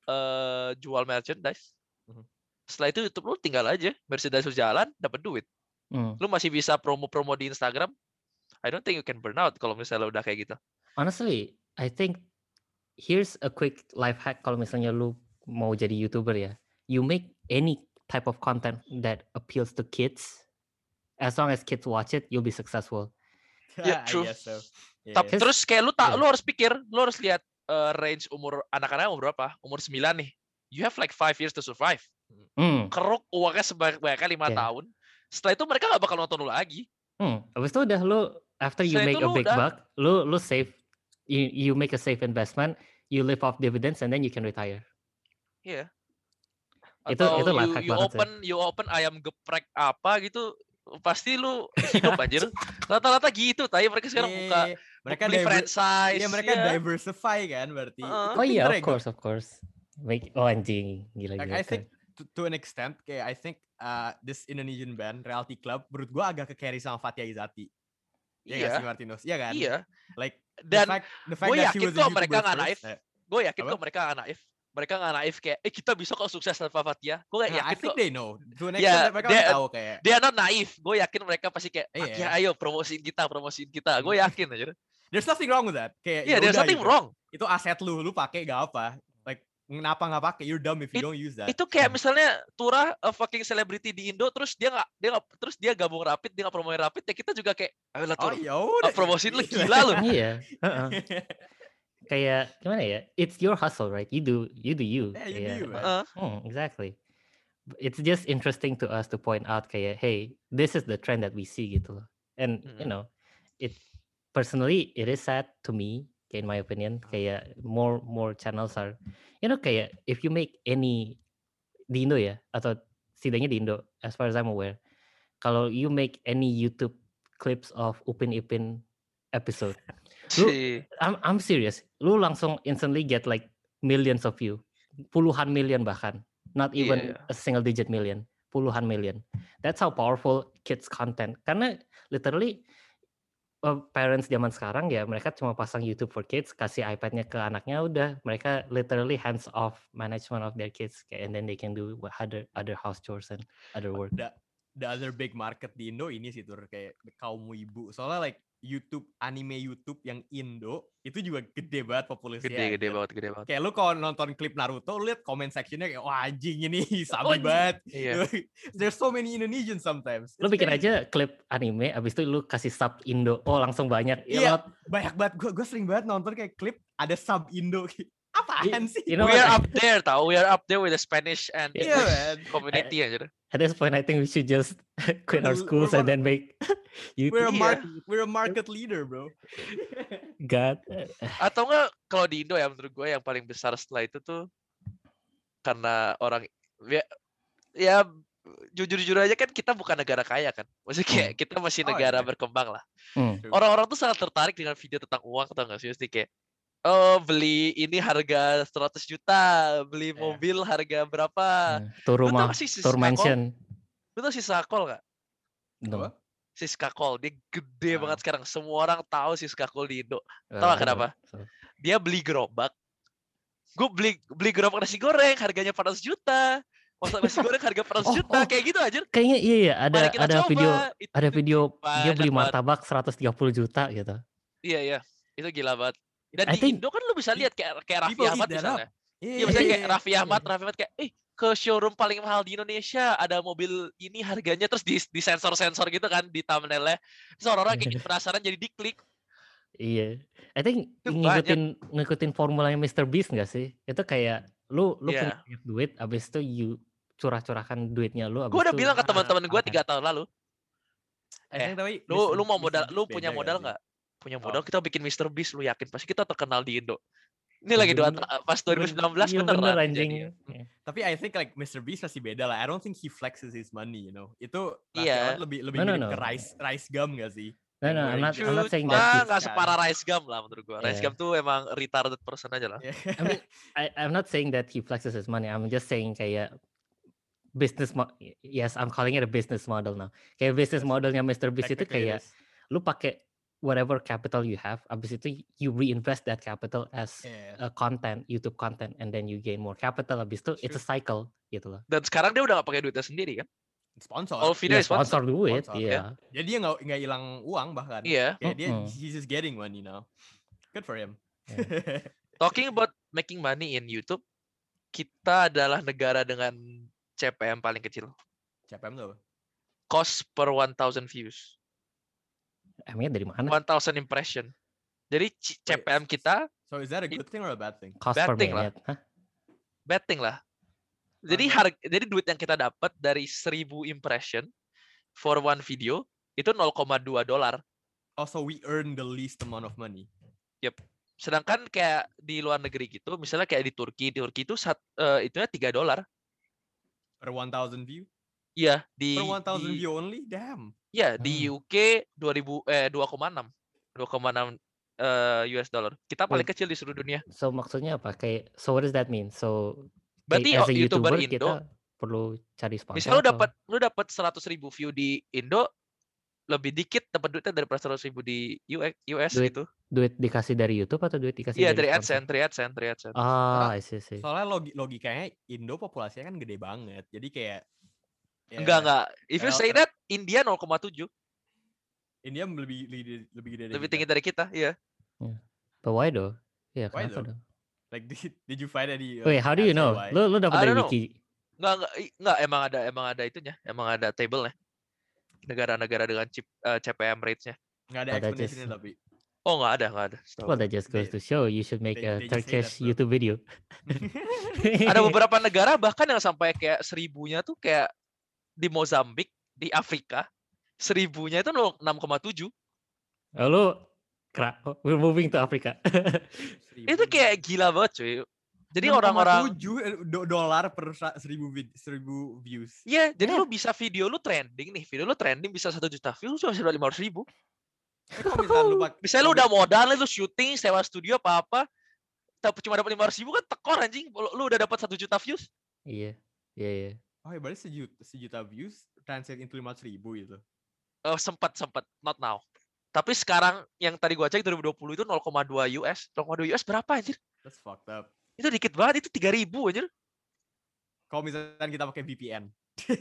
eh, jual merchandise. Mhm. Setelah itu YouTube lu tinggal aja, merchandise lu jalan, dapat duit. Hmm. Lu masih bisa promo-promo di Instagram. I don't think you can burn out kalau misalnya udah kayak gitu. Honestly, I think here's a quick life hack kalau misalnya lu mau jadi YouTuber ya. You make any type of content that appeals to kids. As long as kids watch it, you'll be successful. Ya, I true. guess so. Tapi Yeah. terus kayak lu tak, Yeah. lu harus pikir, lu harus lihat eh, range umur anak-anak umur berapa? Umur sembilan nih. You have like five years to survive. Hmm. Keruk uangnya sebanyak-banyaknya lima Yeah. tahun. Setelah itu mereka nggak bakal nonton lu lagi. Hmm. Habis itu udah lu after you Setelah make itu a lu big udah- buck, lu lu save, you you make a safe investment, you live off dividends and then you can retire. Iya. Itu- Atau itu life you, hack you banget sih. open you open ayam geprek apa gitu, pasti lu hidup anjir. Rata-rata gitu, tapi mereka sekarang Yeah, buka mereka beli diver- franchise. Iya, mereka ya. diversify kan berarti. Heeh. Itu Oh iya, pinter of ya, Gop. course, of course. Make oh anjing, gila Like, gila. I think to, to an extent kayak I think uh, this Indonesian band Reality Club menurut gua agak ke carry sama Fathia Izati. Iya nggak Iya. sih Martinus? Iya kan? Iya. Like Dan the fact, the fact gue that she yakin was a kok mereka YouTuber nggak first, naif. eh, Gue yakin Apa? kok mereka nggak naif. Mereka nggak naif kayak, eh kita bisa kok sukses tanpa Fathia. Gue nah, I yakin think kok. they know. To an Ya, extent mereka dia- udah tahu kayak Dia not naif. Gue yakin mereka pasti kayak, Iya. Fathia ayo promosiin kita, promosiin kita. Gue yakin aja. there's nothing wrong with that. Kayak Iya, ya there's udah nothing gitu. wrong. Itu aset lu, lu pakai gak apa. Like kenapa nggak pakai? You're dumb if you don't use that. Itu kayak misalnya Turah a fucking celebrity di Indo, terus dia nggak dia nggak terus dia gabung Rapid, dia nggak promoin Rapid, ya kita juga kayak, ayo lah Oh Tur, ya udah. promosiin lu gila lu. Iya. heeh. Kayak gimana ya? It's your hustle, right? You do you do you. Yeah, you do Kayak, you, man. Heeh. Hmm, exactly. It's just interesting to us to point out kayak, hey, this is the trend that we see gitu loh. And you Mm. know, it personally it is sad to me, kayak in my opinion, kayak more more channels are, you know, kayak if you make any di Indo ya atau setidaknya di Indo, as far as I'm aware, kalau you make any YouTube clips of Upin Ipin episode, Lu- Si- I'm I'm serious. Lu langsung instantly get like millions of view, puluhan million bahkan, not Iya, even iya. a single digit million, puluhan million. That's how powerful kids content. Karena literally uh, parents zaman sekarang ya mereka cuma pasang YouTube for kids, kasih iPad-nya ke anaknya udah, mereka literally hands off management of their kids, kayak, and then they can do what other other house chores and other work. the, the other big market di Indo ini sih Tur, kayak kaum ibu. Soalnya like YouTube, anime YouTube yang Indo itu juga gede banget populasinya. Gede, gede anjir. banget, gede banget. Kayak lu kalau nonton klip Naruto, lu liat comment sectionnya kayak, wah anjing ini Oh, sabi banget. Iya. There's so many Indonesians sometimes. Lu It's bikin crazy. aja klip anime, abis itu lu kasih sub Indo, oh langsung banyak. Ya, Iya, lot- banyak banget. Gue gue sering banget nonton kayak klip ada sub Indo. Apaan sih? you know We what? are up there tau, we are up there with the Spanish and Iya, English man. community aja. At this point, I think we should just quit our We're- schools we're and then make YouTube. We're a Iya. mark, we're a market leader, bro. God. Atau enggak kalau di Indo ya menurut gue yang paling besar setelah itu tuh karena orang ya, ya jujur-jujur aja kan kita bukan negara kaya kan. Maksudnya kayak kita masih Oh, negara iya. berkembang lah. Hmm. Orang-orang tuh sangat tertarik dengan video tentang uang, tau nggak sih? Mesti kayak, oh beli ini harga seratus juta, beli Iya. mobil harga berapa. Hmm. Tour Lu tau rumah, nggak sih si tour Sakol? mansion. Lu tau si Sakol nggak? No. Apa? Siska Cole. Dia gede Ah. banget sekarang. Semua orang tahu Siska Cole di Indo. Well, Tahu I gak kenapa? don't, so. Dia beli gerobak. Gue beli beli gerobak nasi goreng harganya empat ratus juta. Masak nasi goreng harga empat ratus Oh, juta. oh. Kayak gitu aja. Kayaknya iya ya, ada Mari kita ada coba. video Itu, ada itu video dia banyak beli banget. martabak seratus tiga puluh juta gitu. Iya, iya. Itu gila banget. Dan I di think Indo kan lu bisa lihat kayak kayak Raffi People eat Ahmad that misalnya. up. Iya, Yeah, misalnya yeah, kayak yeah. Raffi Ahmad, Raffi Ahmad kayak, eh ke showroom paling mahal di Indonesia ada mobil ini harganya terus di, di sensor-sensor gitu kan di thumbnailnya. Terus orang-orang kayak penasaran jadi diklik. iya. I think Itu ngikutin ngikutin formulanya mister Beast nggak sih? Itu kayak lu lu punya Iya. banyak duit, abis itu you curah-curahkan duitnya lu, Gue abis udah itu bilang ke Ah, teman-teman gue konten. tiga tahun lalu. I Eh, think tapi lu Mister lu mau Mister modal, lu Beast punya beda modal sih? nggak? Punya Oh. modal kita bikin mister Beast, lu yakin pasti kita terkenal di Indo. Ini Ya lagi dua bener. ta- pas dua ribu sembilan belas Iya bener beneran anjing. kejadian. Iya. Tapi I think like Mister Beast masih beda lah. I don't think he flexes his money, you know. Itu Raffi Iya. Ahmad lebih lebih No, no, mirip no. ke rice rice gum gak sih? No, Yang no, I'm wearing not- I'm not shoes, saying flat that Cuma he's- shoes nggak kan. separah Rice Gum lah menurut gue. Rice Iya. Gum tuh emang retarded person aja lah. Yeah. I mean, I, I'm not saying that he flexes his money. I'm just saying kayak business mo- yes, I'm calling it a business model now. Kayak business Yes. modelnya mister Beast itu Technically it kayak is. lu pakai whatever capital you have, abis itu you reinvest that capital as Yeah. a content, YouTube content, and then you gain more capital. Abis itu it's a cycle gitu loh. Dan sekarang dia udah gak pakai duitnya sendiri kan? Sponsor. All video Iya, is sponsor. sponsor duit, Sponsor, iya. Jadi dia nggak nggak hilang uang bahkan. Iya. Kayak dia Mm-mm. he's just getting one, you know. Good for him. Talking about making money in YouTube, kita adalah negara dengan C P M paling kecil. C P M tuh apa? Cost per one thousand views. Emangnya dari mana? one thousand impression. Jadi C- C P M kita So is that a good thing or a bad thing? Cost per betting lah. minute. Hah? betting lah. Jadi Uh-huh. harga, jadi duit yang kita dapat dari seribu impression for one video itu nol koma dua dolar. Also we earn the least amount of money. Sedangkan kayak di luar negeri gitu, misalnya kayak di Turki, di Turki itu sat, eh, itunya tiga dolar. Per one thousand view? Iya, di Per one thousand di- view only? Damn. Iya, di Hmm. U K dua ribu eh dua koma enam. dua koma enam eh, U S dollar. Kita paling Wait. kecil di seluruh dunia. So maksudnya apa? Kayak so what does that mean? So Berarti kayak as a YouTuber YouTuber Indo, kita perlu cari sponsor. misalnya lu atau- dapat lu dapat seratus ribu view di Indo, lebih dikit dapat duitnya daripada seratus ribu di U S, U S Duit gitu. duit dikasih dari YouTube atau duit dikasih Iya, dari dari sponsor? AdSense, dari AdSense, dari AdSense. Ah, I see, I see. Soalnya logi logikanya Indo populasinya kan gede banget. Jadi kayak ya, Enggak, enggak. If you Well, say ter- that, India nol koma tujuh. India lebih lebih, lebih gede dari Lebih kita. tinggi dari kita, iya. But why though? Iya, Why kenapa though? dong? Like did, did you find any uh, Wait, how do you answer know? why? Lu lu dapat I dari don't know. wiki. Enggak, enggak, i- enggak emang ada emang ada itunya, emang ada table-nya. Negara-negara dengan chip, eh, C P M rates-nya. Nggak ada Oh, that explanation just- tapi. Oh, enggak ada, enggak ada. setahu Well, gua. that just goes They- to show you should make they- a they just say Turkish that, bro. YouTube video. Ada beberapa negara bahkan yang sampai kayak seribunya tuh kayak di Mozambik, di Afrika, seribunya itu nol- enam koma tujuh. Oh, lu kera- oh, we're moving to Africa. Itu kayak gila banget cuy. Jadi orang-orang, tujuh dolar per sa- seribu vid- seribu views. iya, jadi Yeah. lu bisa video lu trending nih, video lu trending bisa satu juta views, cuma bisa lima ratus ribu. Eh, kalau misalkan lu pak- Misalnya lu kalau udah modal, lu syuting, sewa studio apa-apa, tapi cuma dapat lima ratus ribu kan tekor anjing. Lu lu udah dapat satu juta views. Iya, iya, iya. Oh ya berarti sejuta, sejuta views translate into lima ratus ribu gitu. Oh, sempat sempat not now. Tapi sekarang yang tadi gua cek dua ribu dua puluh itu nol koma dua U S. nol koma dua U S berapa anjir? That's fucked up. Itu dikit banget, itu tiga ribu anjir. Kalau misalkan kita pakai V P N.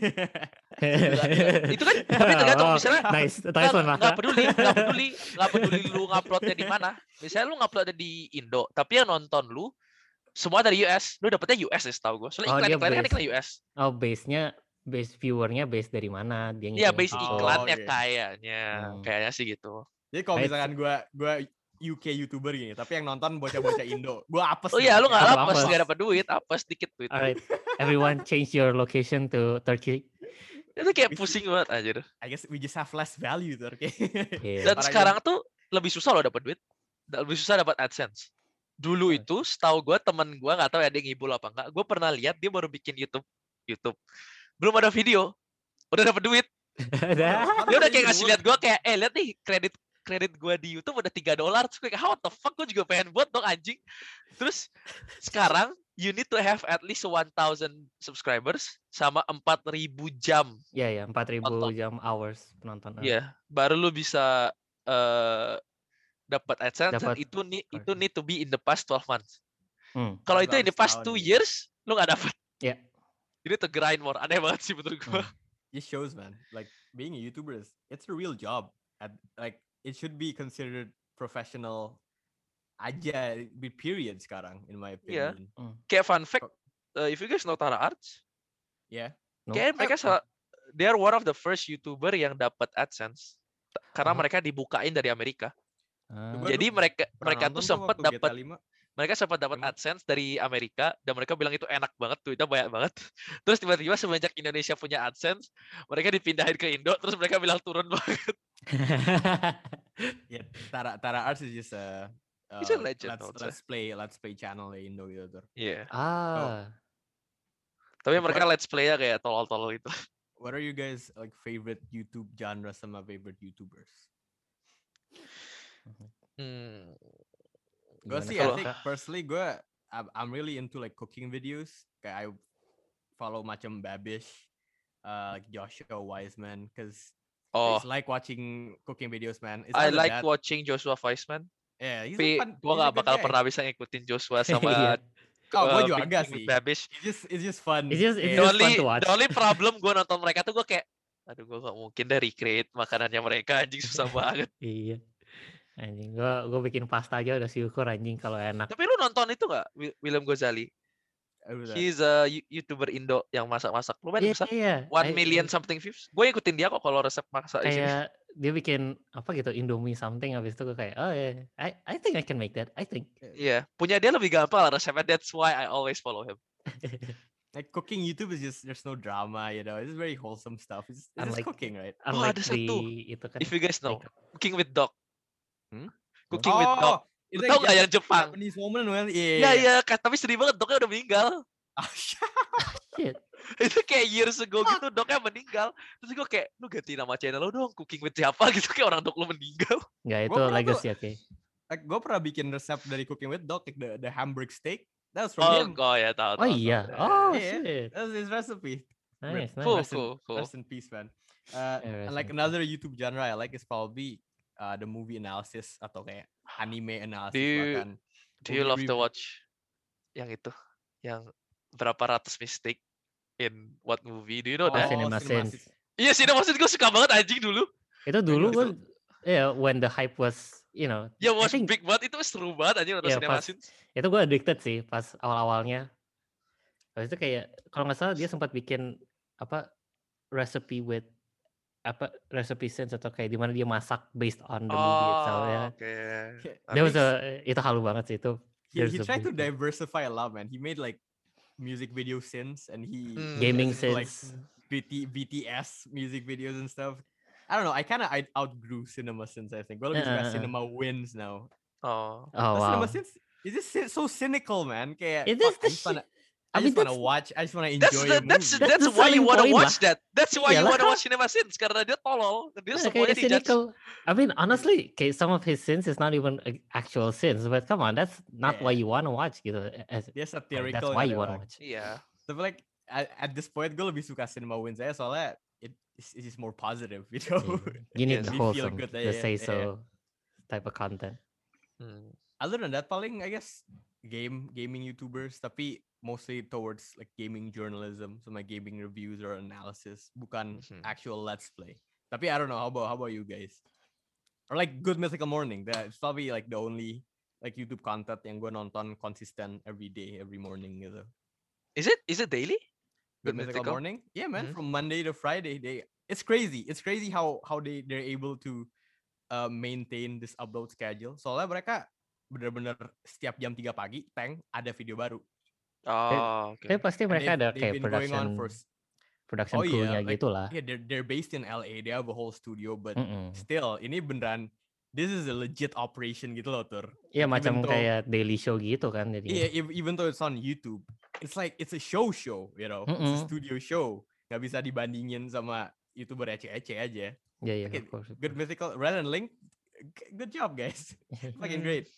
Itu kan tapi tergantung Oh, misalnya nice, nggak nice one, nggak Maka. peduli, nggak peduli, nggak peduli lu nguploadnya di mana. Misalnya lu nguploadnya di Indo, tapi yang nonton lu semua dari U S, lu dapetnya U S ya setahu gua. Soalnya Oh, dia iklan-iklannya kan base. iklan U S. Oh, base-nya base viewernya base dari mana? Dia Iya, ngitungin base situ. Oh, iklannya oke. kayaknya, Hmm. kayaknya sih gitu. Jadi kalau Right. misalkan gua gua U K YouTuber gini, tapi yang nonton bocah-bocah Indo, gua apes. Oh nih, iya, lu nggak kayak Apa-apa. lapes, apes. nggak dapat duit, apes dikit duit. Alright, everyone change your location to Turkey. Itu kayak Wis- pusing banget anjir. I guess we just have less value tuh, oke. Iya. Dan Parah sekarang tuh lebih susah loh dapat duit. Da- Lebih susah dapat AdSense. Dulu Hmm. itu setahu gue temen gue nggak tahu ya dia ngibul apa enggak. Gue pernah lihat dia baru bikin YouTube. YouTube. Belum ada video. Udah dapat duit. Dia udah kayak ngasih lihat gue kayak, eh lihat nih kredit kredit gue di YouTube udah tiga dolar. Terus gue kayak, how the fuck gue juga pengen buat dong anjing. Terus sekarang you need to have at least one thousand subscribers sama empat ribu jam. Ya ya, empat ribu Nonton. jam hours penonton. Iya, yeah, baru lu bisa uh, dapat AdSense dan Dapat itu nih part. itu need to be in the past twelve months. Hmm. Kalau Berarti itu in the harus past tahun two ya. years lu nggak dapat. Ya. Ini to grind more. Aneh banget sih menurut gua. Hmm. It shows, man. Like being a YouTuber is it's a real job. At like it should be considered professional aja with period sekarang in my Iya. opinion. Hmm. Kayak fun fact, uh, if you guys know Tara Arts, Yeah. No? kayak mereka Uh, salah, they are one of the first YouTuber yang dapat AdSense karena Oh. mereka dibukain dari Amerika. Ah. Gua Jadi dulu mereka pernah mereka tuh nonton sempat waktu G T A dapat lima. mereka sempat dapat Emang? AdSense dari Amerika dan mereka bilang itu enak banget, duitnya banyak banget. Terus tiba-tiba semenjak Indonesia punya AdSense, mereka dipindahin ke Indo, terus mereka bilang turun banget. Yeah, Tara Tara Arts is just a uh, He's a legend, let's I would say. let's play let's play channel di Indo gitu tuh. Iya. ah. Tapi What- mereka let's play-nya kayak tolol-tolol gitu. What are you guys like favorite YouTube genre sama favorite YouTubers? Hmm. Gue Gimana sih, kalau I think Kak? personally gue I'm, I'm really into like cooking videos. Kayak I follow macam Babish, uh, like Joshua Wiseman, cause I Oh, just like watching cooking videos, man. It's I either like that- watching Joshua Weissman. Yeah, he's a Tapi fun. gue he's a gak good bakal guy. pernah bisa ngikutin Joshua sama Iya. Oh, gue uh, juga Big agak King with sih. Babish. It's just it's just fun. It's just- it's The Kayak- just fun only, to watch. the only problem gue nonton mereka tuh gue kayak, aduh gue gak mungkin deh recreate makanannya mereka, anjing susah banget. Iya. Anjing, gua gua bikin pasta aja udah syukur anjing kalau enak. Tapi lu nonton itu gak, Wi- William Gozali? Who's that? He's a You- YouTuber Indo yang masak-masak. Lumayan Iya, besar. iya. One I- million I- something views. Gue ikutin dia kok kalau resep masak di sini. kayak dia bikin apa gitu Indomie something, habis itu gue kayak oh ya yeah, I I think I can make that I think. Iya, punya dia lebih gampang lah resepnya. That's why I always follow him. Like cooking YouTube is just there's no drama, you know. It's just very wholesome stuff. It's, it's just Unlike- cooking, right? Unlike ada di satu. itu kan. If you guys know, like- Cooking with Dog. Hmm? Cooking with Dog. itu Lu tau gak yang Jepang? Japanese woman, well, iya. Iya, iya. ka- Tapi sedih banget, dognya udah meninggal. Ah, Shit. Itu kayak years ago gitu, dognya meninggal. Terus gue kayak, lu ganti nama channel lu dong, Cooking with siapa gitu. Kayak orang dog lu meninggal. Nggak, itu Gua pernah legacy oke. like, gue pernah bikin resep dari Cooking with Dog, like the the hamburg steak. That was from Oh, him. oh ya tahu. Oh tahu, iya. tahu. Oh Iya. shit. That was his recipe. Nice, nice. Cool, Rest in- cool, cool. Rest in peace, man. Uh, Yeah, and rest like in another YouTube genre I like is probably uh, the movie analysis atau kayak anime analysis Do you- bahkan. Do you movie love to review. watch yang itu? Yang berapa ratus mistake in what movie? Do you know Oh, that? Cinema Cinema Sins. Iya sih, maksud gue suka banget anjing dulu. Itu dulu Itu- gue ya when the hype was you know Ya I was think big banget, itu seru banget anjing nonton Iya, Cinema pas- Sins. itu gue addicted sih pas awal-awalnya. Habis itu kayak kalau nggak salah dia sempat bikin apa recipe with apa recipe sense atau kayak dimana dia masak based on the movie itself ya. Oh, oke. That That was makes- a, itu halu banget sih itu. He, There's he a tried to big- diversify a lot, man. He made like music video sins and he Hmm. Gaming into, like sense. B T, B T S music videos and stuff. I don't know. I kind of I outgrew cinema sins. I think. Gue lebih suka Uh, uh, uh. cinema wins now. Oh. Oh But wow. Cinema sins is just si- so cynical, man. Kayak, It is fuck, I the just wanna, shit. I I mean, just wanna that's- watch. I just wanna That's enjoy the, a movie. that's That's that's the why you selling wanna point watch that. That's why you Iyalah. wanna watch Cinema Sins karena dia tolol. Dia Yeah, semuanya kayak dijudge. cynical. I mean, honestly, kayak some of his sins is not even uh, actual sins, but come on, that's not why Yeah. you want to watch gitu. As, Dia like, satirical. that's why nggak you ada want to orang. watch. Iya. Tapi like at, at this point gue lebih suka cinema wins aja soalnya it it's, it's just more positive, you know. Yeah. You need Yes. the We feel wholesome, good, the yeah, say yeah. so type of content. Hmm. Other than that, paling I guess game gaming YouTubers, tapi mostly towards like gaming journalism, so my gaming reviews or analysis, bukan Mhm. actual let's play. Tapi I don't know, how about how about you guys? Or like Good Mythical Morning, that's probably like the only like YouTube content yang gue nonton konsisten every day, every morning gitu. Is it is it daily? Good Good Mythical Mythical? Morning, yeah man, Mhm. from Monday to Friday, they it's crazy, it's crazy how how they they're able to uh, maintain this upload schedule. Soalnya mereka bener-bener setiap jam tiga pagi, tank ada video baru. Oh, oke. Tapi pasti And mereka they've- ada they've kayak been going on production for s- production Oh, iya, crew-nya like- gitu lah. yeah, they're they're based in L A. They have a whole studio, but Mm-mm. still ini beneran this is a legit operation gitu loh, Tur. Iya Like, even macam though- kayak daily show gitu kan jadi. Iya, ev- even though it's on YouTube, it's like it's a show show, you know, it's a Mm-mm. studio show. Gak bisa dibandingin sama YouTuber ece-ece aja. Iya iya Okay, of course. of Good course. Mythical, Red and Link, g- good job guys, fucking great.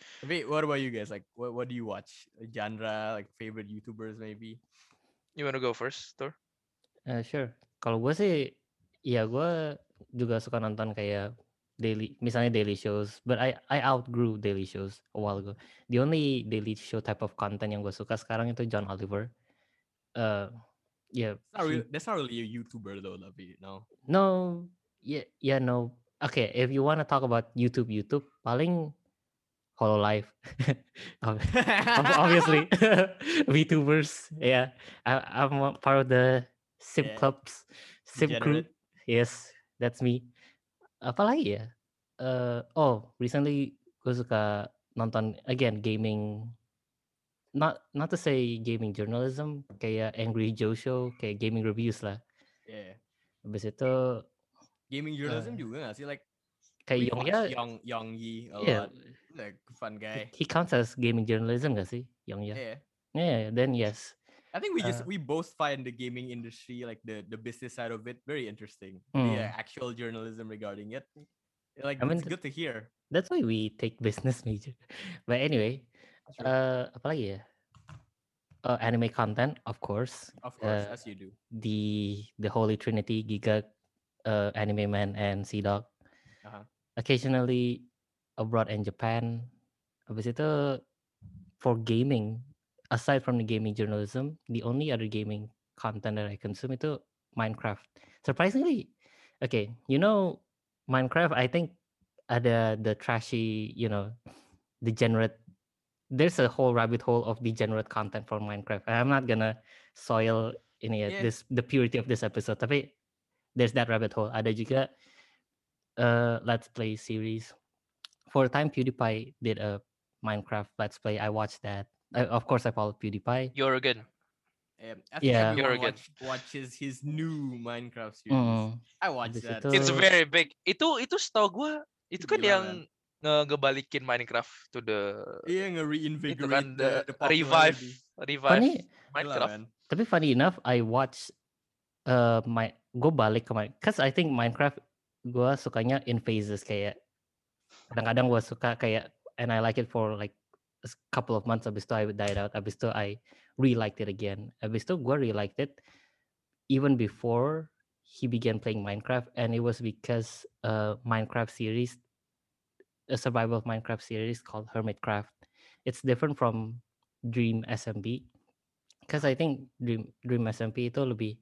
Wait, what about you guys? Like, what what do you watch? A genre, like favorite YouTubers maybe? You wanna go first, Thor? Eh, sure. Kalau gue sih, ya gue juga suka nonton kayak daily, misalnya daily shows. But I I outgrew daily shows a while ago. The only daily show type of content yang gue suka sekarang itu John Oliver. Uh, yeah, It's not he really, that's not really a YouTuber though, tapi no. no, yeah, yeah, no. Okay, if you want to talk about YouTube, YouTube paling Hololive, Ob- ob- obviously VTubers. Yeah, I, I'm a part of the Sip Yeah, clubs, Sip crew. degenerate. Yes, that's me. Apalagi ya? Uh, oh, recently gue suka nonton again gaming. Not not to say gaming journalism, kayak Angry Joe Show, kayak gaming reviews lah. Yeah, Habis itu gaming uh, journalism juga nggak sih? Like, kayak we've Yong watched Ya, Young Young Yi a yeah, lot. Like, fun he, guy. he counts as gaming journalism gak sih, Yong Ya? Yeah, Yeah, then yes. I think we just Uh, we both find the gaming industry, like the the business side of it, very interesting. hmm. The uh, actual journalism regarding it, like I mean, it's good to hear. that's why we take business major. But anyway, That's true. uh, apalagi ya? Uh, anime content, of course. Of course, Uh, as you do. the the Holy Trinity, Giga, uh, Anime Man, and Sea Dog. Uh-huh. Occasionally abroad in Japan. Habis itu for gaming, aside from the gaming journalism, the only other gaming content that I consume itu Minecraft. Surprisingly, okay, you know Minecraft. I think ada the trashy, you know, degenerate. There's a whole rabbit hole of degenerate content for Minecraft. I'm not gonna soil ini ya, Yeah. this the purity of this episode. Tapi there's that rabbit hole. Ada juga uh, let's play series. For a time, PewDiePie did a Minecraft let's play. I watched that. I, of course, I follow PewDiePie. You're Um, I think Yeah. everyone You're good. watch, watches his new Minecraft series. Mm. I watched Habis that. itu, It's very big. Itu itu setahu gue itu kan Gila, yang man. nge- ngebalikin Minecraft to the Iya, itu nge-reinvigorate kan the, the, the revive popularity. revive funny, Gila, Minecraft. man. tapi funny enough, I watch uh my gue balik ke my, cause I think Minecraft gue sukanya in phases, kayak kadang-kadang gue suka kayak and I like it for like a s- couple of months, habis itu I died out, habis itu I re-liked it again, habis itu gue re-liked it even before he began playing Minecraft, and it was because uh Minecraft series, a survival Minecraft series called Hermitcraft. It's different from Dream S M B, because I think Dream Dream S M P itu lebih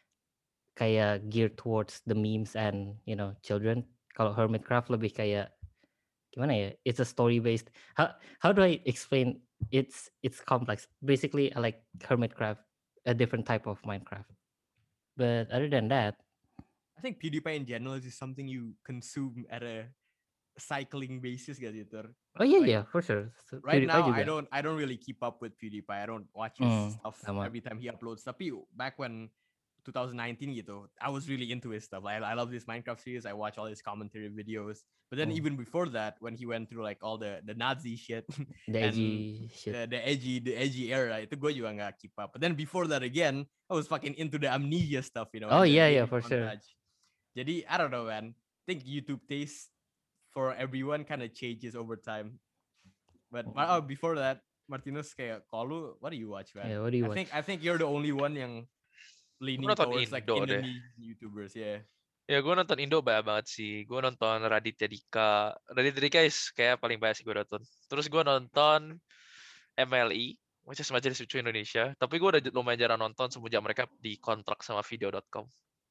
kayak geared towards the memes and you know children. Kalau Hermitcraft lebih kayak gimana ya? It's a story based. How how do I explain? It's it's complex. Basically, I like Hermitcraft, a different type of Minecraft. But other than that, I think PewDiePie in general is something you consume at a cycling basis, gak sih, Tur? oh yeah Like, yeah for sure. So, right PewDiePie now, juga. I don't I don't really keep up with PewDiePie. I don't watch his Hmm, stuff sama. every time he uploads. Tapi back when twenty nineteen gitu, I was really into his stuff. Like, I love this Minecraft series. I watch all his commentary videos. But then Hmm. even before that, when he went through like all the the Nazi shit The and edgy shit. the, the edgy the edgy era, itu gue juga nggak keep up. But then before that again, I was fucking into the Amnesia stuff, you know. Oh and the yeah yeah gaming for sure. montage. Jadi I don't know, man. I think YouTube taste for everyone kind of changes over time. But oh, before that, Martinez kayak kalau what do you watch, man? Yeah, what do you I watch? think I think you're the only one yang leaning nonton towards like Indo deh. Indonesian YouTubers, yeah. Ya gue nonton Indo banyak banget sih. Gue nonton Raditya Dika. Raditya Dika is kayak paling banyak sih gue nonton. Terus gue nonton M L I, which is Majelis Lucu Indonesia. Tapi gue udah lumayan jarang nonton semenjak mereka dikontrak sama video dot com.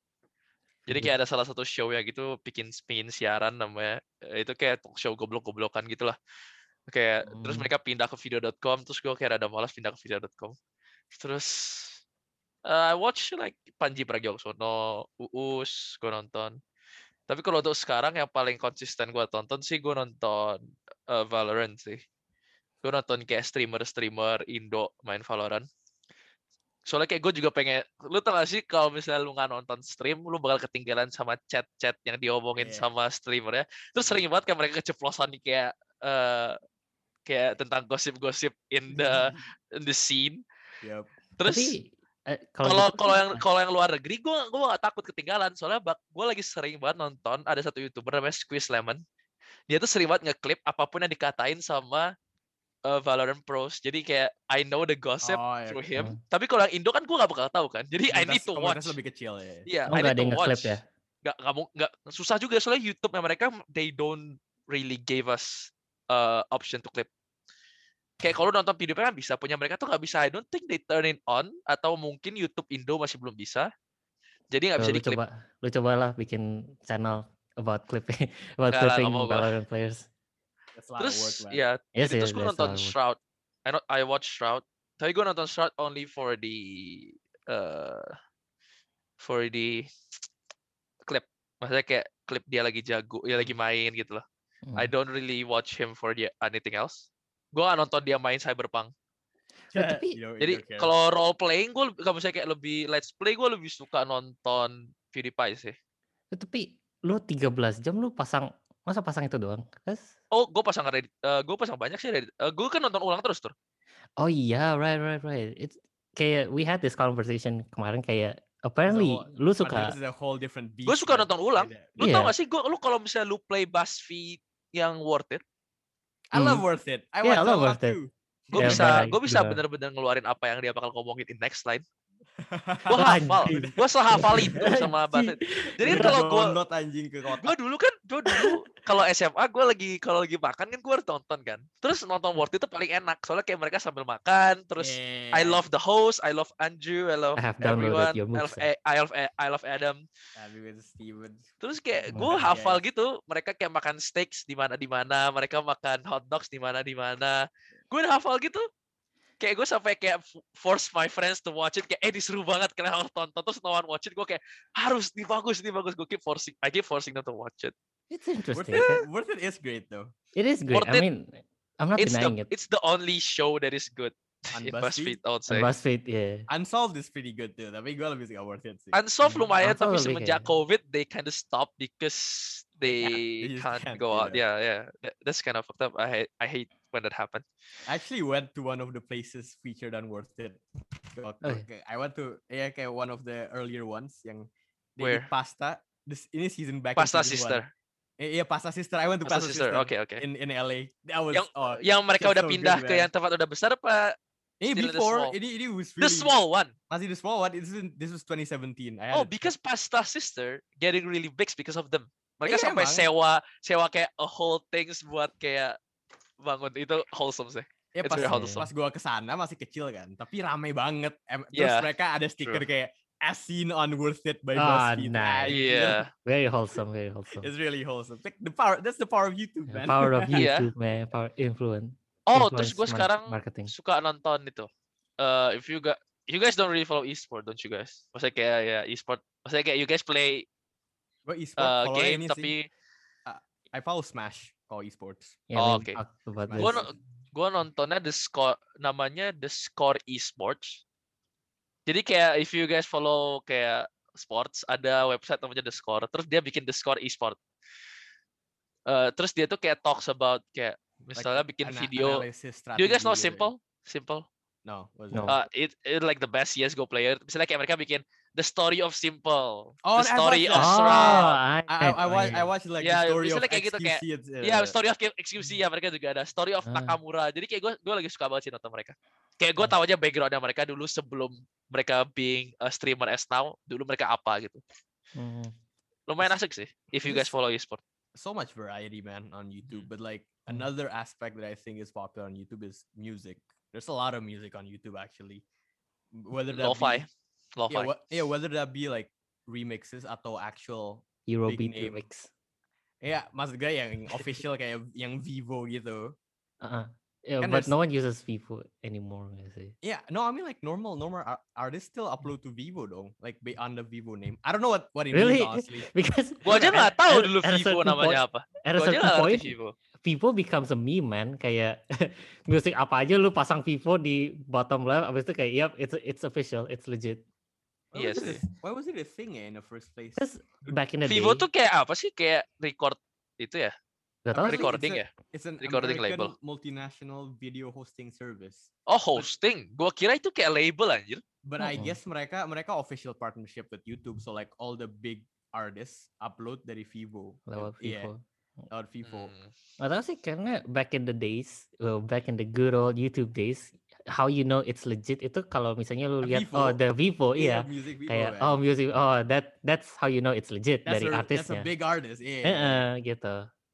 Jadi kayak ada salah satu show yang gitu bikin spin siaran namanya. Eh, Itu kayak talk show goblok-goblokan gitu lah. Kayak terus Hmm. mereka pindah ke video dot com, terus gue kayak ada malas pindah ke video dot com. Terus uh, I watch like Panji Pragiwaksono, Uus, gue nonton. Tapi kalau untuk sekarang yang paling konsisten gue tonton sih gue nonton uh, Valorant sih. Gue nonton kayak streamer-streamer Indo main Valorant. Soalnya kayak gue juga pengen, lu tau gak sih kalau misalnya lu nggak nonton stream, lu bakal ketinggalan sama chat-chat yang diomongin Yeah. sama streamer ya. Terus sering banget kayak mereka keceplosan nih kayak uh, kayak tentang gosip-gosip in the in the scene. Yep. Terus Tapi eh, kalau kalau gitu kalau sih, yang kalau yang luar negeri gue gue gak takut ketinggalan soalnya bak gue lagi sering banget nonton ada satu youtuber namanya Squeeze Lemon dia tuh sering banget nge-clip apapun yang dikatain sama uh, Valorant pros. Jadi kayak I know the gossip Oh, ya. through oke. him. Hmm. Tapi kalau yang Indo kan gue nggak bakal tahu kan. Jadi I need Komunitas, to komunitas watch. lebih kecil ya. Iya, Oh, I nggak need ada to yang nge-clip watch. ya? Nggak kamu nggak susah juga soalnya YouTube mereka they don't really give us uh, option to clip. Kayak kalau nonton video kan bisa, punya mereka tuh nggak bisa. I don't think they turn it on atau mungkin YouTube Indo masih belum bisa. Jadi nggak So, bisa lu diklip. coba, lu cobalah bikin channel about clipping, about Nggak lah, nggak clipping mau gua. Valorant players. That's a lot of work, Terus man. ya, Yes, jadi yes, terus gue that's a nonton lot of work. Shroud. I not I watch Shroud. Tapi gue nonton Shroud only for the uh, for the clip. Maksudnya kayak klip dia lagi jago, dia lagi main gitu loh. I Hmm. don't really watch him for the anything else. Gue gak nonton dia main Cyberpunk. Eh, tapi- You don't- you Jadi don't care. kalau role playing gue kalau misalnya kayak lebih let's play gue lebih suka nonton PewDiePie sih. Eh, Tapi lu tiga belas jam lu pasang, masa pasang itu doang? Kas? Oh, gue pasang Reddit. Uh, gue pasang banyak sih Reddit. Uh, gue kan nonton ulang terus tuh. Oh iya, right, right, right. It's kayak we had this conversation kemarin kayak It's a apparently whole- lu but suka. this is a whole different beast. Gue suka man. nonton ulang. Beda. Lu Iya. tau gak sih, gue lu kalau misalnya lu play BuzzFeed yang worth it, I love Hmm. Worth It. I Yeah, watch I that love a lot Worth It. too. gue Yeah, bisa but I gue bisa juga- bener-bener ngeluarin apa yang dia bakal ngomongin in next line. Gue Oh, hafal, anjing. gue sehafal itu sama Anjing. BuzzFeed. Jadi kan Udah kalau gue download anjing ke gue kotak. dulu kan gue dulu kalau S M A gue lagi kalau lagi makan kan gue harus nonton kan. Terus nonton Worth It itu paling enak soalnya kayak mereka sambil makan. Terus I Yeah. love the host, I love Andrew, I love I have downloaded everyone, your I love moves. A- I love A- I love Adam. Tapi with Steven. Terus kayak Oh, gue guys. hafal gitu, mereka kayak makan steaks di mana di mana, mereka makan hot dogs di mana di mana. Gue udah hafal gitu. Kayak gue sampai kayak f- force my friends to watch it, kayak eh ini seru banget kalian harus tonton. Terus no one watch it, gue kayak harus nih bagus nih bagus. Gue keep forcing, I keep forcing them to watch it. It's Worth interesting. It, Worth It is great though. It is great. Worth I It. mean, I'm not It's denying the it. it's the only show that is good On in BuzzFeed? BuzzFeed, I would say. And BuzzFeed, yeah. Unsolved is pretty good too. Tapi gue lebih suka Worth It sih. Unsolved Hmm, lumayan, tapi Unsolved lebih semenjak kayak- COVID they kind of stop because They can't. they They just can't can't, go out. yeah. Yeah, yeah. That- That's kind of fucked up. I hate I hate when that happened. I actually went to one of the places featured on Worth It. Waktu- Oh, kayak- I went to yeah kayak one of the earlier ones yang they Where? eat pasta. This ini season back. in Pasta season Sister. one. Eh, Iya Pasta Sister. I went to Pasta Pasta, Sister. Sister. Oke, oke. In in L A. That was Yang oh, yang mereka that's udah so pindah good, ke man. yang tempat udah besar apa? Ini still in the before small? ini ini was The really small one. masih the small one. This is this was twenty seventeen. I had Oh, it- because Pasta Sister getting really big because of them. Mereka Iya, sampai emang. sewa sewa kayak a whole things buat kayak bangun itu wholesome sih. ya it's pas very wholesome. pas gua kesana masih kecil kan, tapi rame banget. Em- Terus Yeah, mereka ada stiker true. kayak as seen on Worth It by Ah, BuzzFeed. nice. Anjir. Iya. Very wholesome, very wholesome. It's really wholesome. Like the power. That's the power of YouTube, Yeah, man. power of Iya. YouTube, man. Power influence. Oh, terus influence gue mar- sekarang marketing. suka nonton itu. Uh, if you got you guys don't really follow e-sport, don't you guys? Maksudnya kayak ya e-sport. Maksudnya kayak you guys play Gua e-sport uh, follow game ini tapi sih. I follow Smash kalau esports. Yeah, Oh, we okay. talked about Smash. gue this. no, gue nontonnya the score namanya the score esports. Jadi kayak if you guys follow kayak sports ada website namanya the score. Terus dia bikin the score esport. Uh, terus dia tuh kayak talks about kayak misalnya Like, bikin ana- video. analysis Do you guys know strategi gitu ya. Simple? Simple. No. what's No. that? Uh, it, it like the best C S G O player. Misalnya kayak mereka bikin the story of Simple, Oh, the I've story watched of that. Shroud. I, I I, I watch I watch like Yeah, the story of misalnya kayak gitu, kayak- X Q C. it's, uh, Iya, story of X Q C ya mereka juga ada. Story of Ah. Nakamura. Jadi kayak gue gue lagi suka banget sih nonton mereka. Kayak gue Oh. tahu aja backgroundnya mereka dulu sebelum mereka being a streamer as now. Dulu mereka apa gitu. Mhm. Lumayan asik sih. If you guys This- follow esport. so much variety, man, on YouTube. Mm. But like Mm. another aspect that I think is popular on YouTube is music. There's a lot of music on YouTube actually. Whether that Lo-fi. be Lo-fi. yeah, wha- yeah, whether that be like remixes atau actual Eurobeat name. remix. ya maksud gue yang official kayak yang Vivo gitu. Uh-uh. Yeah, Kan but there's- no one uses Vivo anymore. I say. Yeah, no, I mean like normal normal ar- artists still upload to Vivo dong, like be on the Vivo name. I don't know what what it Really? means honestly. Because Gue aja at- nggak tahu at- dulu at a Vivo certain namanya point- apa. At a Gue aja certain nggak ngerti point, Vivo. Vivo becomes a meme, man. Kayak musik apa aja lu pasang Vivo di bottom left, abis itu kayak, yep, it's it's official, it's legit. Why Iya was it sih. a- Why was it a thing ya in the first place? Because back in the Vivo day, tuh kayak apa sih? Kayak record itu ya? gak tau Apparently recording it's ya? a- It's an Recording American label. multinational video hosting service. Oh, hosting. Gue kira itu kayak label anjir. But I Mm-mm. guess mereka mereka official partnership with YouTube, so like all the big artists upload dari Vivo. lewat Yeah. Vivo. lewat Vivo. Hmm. Nggak tahu sih, karena back in the days, well, back in the good old YouTube days, how you know it's legit itu kalau misalnya lu lihat oh Vivo. the Vivo, Iya, iya, music Vivo, kayak man. oh music, oh that that's how you know it's legit That's dari a that's a artisnya. big artist. Yeah. Heeh, gitu.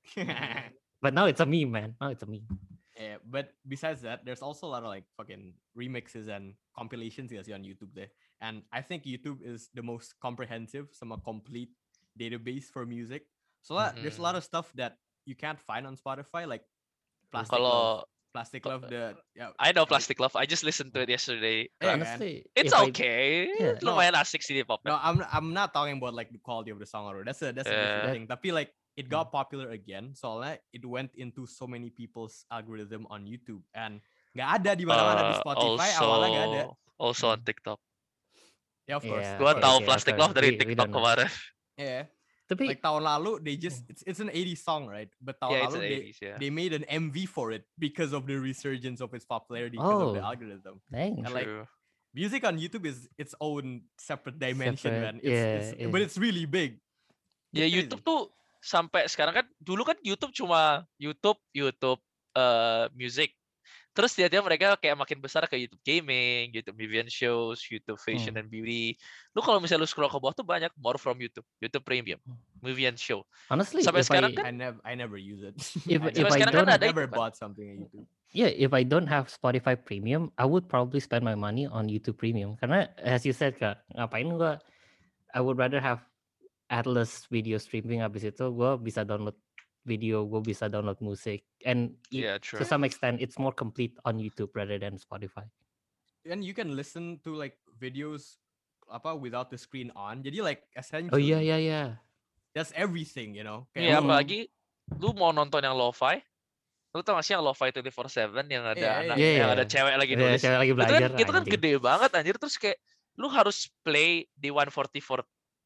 But now it's a meme, man. Now it's a meme. Yeah, but besides that, there's also a lot of like fucking remixes and compilations you see on YouTube there. And I think YouTube is the most comprehensive, some complete database for music. So uh, there's a lot of stuff that you can't find on Spotify, like Plastic Love. Kalau Plastic Love, the yeah, I know sorry. Plastic Love, I just listened to it yesterday. Yeah, Like, man. Honestly, it's if I- okay. yeah. No. Lumayan asik sih di pop. No, I'm I'm not talking about like the quality of the song or that's a that's a different Yeah. thing. Tapi like it got popular again, soalnya it went into so many people's algorithm on YouTube and nggak ada di mana-mana di Uh, Spotify also, awalnya nggak ada. also on Hmm. TikTok. Yeah, of course. Yeah, of Gua okay, course. tahu okay, Plastic of Love course. dari We- we TikTok don't know. kemarin. Yeah. Tapi Like tahun lalu they just it's it's an eighties song, right? But tahun Yeah, it's lalu an they, eighties, yeah. they made an M V for it because of the resurgence of its popularity because of the Oh. algorithm. dang. And like True. music on YouTube is its own separate dimension, Separate, man. It's, yeah, it's, yeah. But it's really big. Ya It's YouTube crazy. tuh sampai sekarang kan dulu kan YouTube cuma YouTube, YouTube eh music. Terus dia mereka kayak makin besar ke YouTube gaming, YouTube movie and shows, YouTube fashion Hmm. and beauty. Lu kalau misalnya lu scroll ke bawah tuh banyak more from YouTube, YouTube Premium, Hmm. movie and show. Honestly, Sampai if sekarang I kan I never I never use it. If- I if never, I sekarang kan don't- ada never itu kan. bought something on YouTube. yeah, if I don't have Spotify Premium, I would probably spend my money on YouTube Premium. Karena as you said, Kak, ngapain gua? I would rather have Atlas video streaming. Habis itu gua bisa download video, gua bisa download musik, and it- Yeah, to true. some extent, it's more complete on YouTube rather than Spotify. And you can listen to like videos apa without the screen on. Jadi like Oh essentially iya iya iya. that's everything, you know. Iya, Hmm. apalagi lu mau nonton yang lo-fi, lu tau gak sih yang lo-fi dua puluh four seven yang ada Iya, anak, iya, yang iya. ada cewek lagi Ada nulis. cewek lagi Itu kan, belajar, itu kan anjing. gede banget anjir, terus kayak lu harus play di one forty-four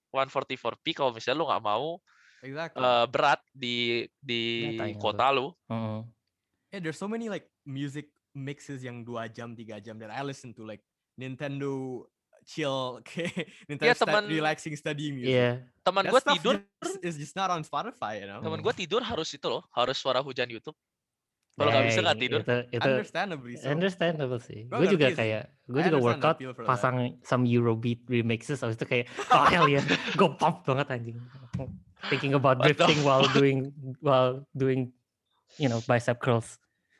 p kalau misalnya lu nggak mau Exactly. eh, berat di di Datanya kuota lu. Heeh. Yeah, there's so many like music mixes yang dua jam, tiga jam that I listen to like Nintendo chill, kayak Nintendo Iya, stu- teman- relaxing studying music. Iya. Teman That gue stuff tidur, just, is just not on Spotify, you know. teman Hmm. gue tidur harus itu loh, harus suara hujan YouTube. Kalau nggak bisa nggak Dang, tidur. Itu itu Understandably so. understandable sih. Gua Gue juga ngerti sih. kayak gue I juga understand the workout appeal for that. pasang some Eurobeat remixes, habis itu kayak oh hell yeah, gue pump banget anjing. Thinking about What the drifting while fuck? doing while doing you know bicep curls.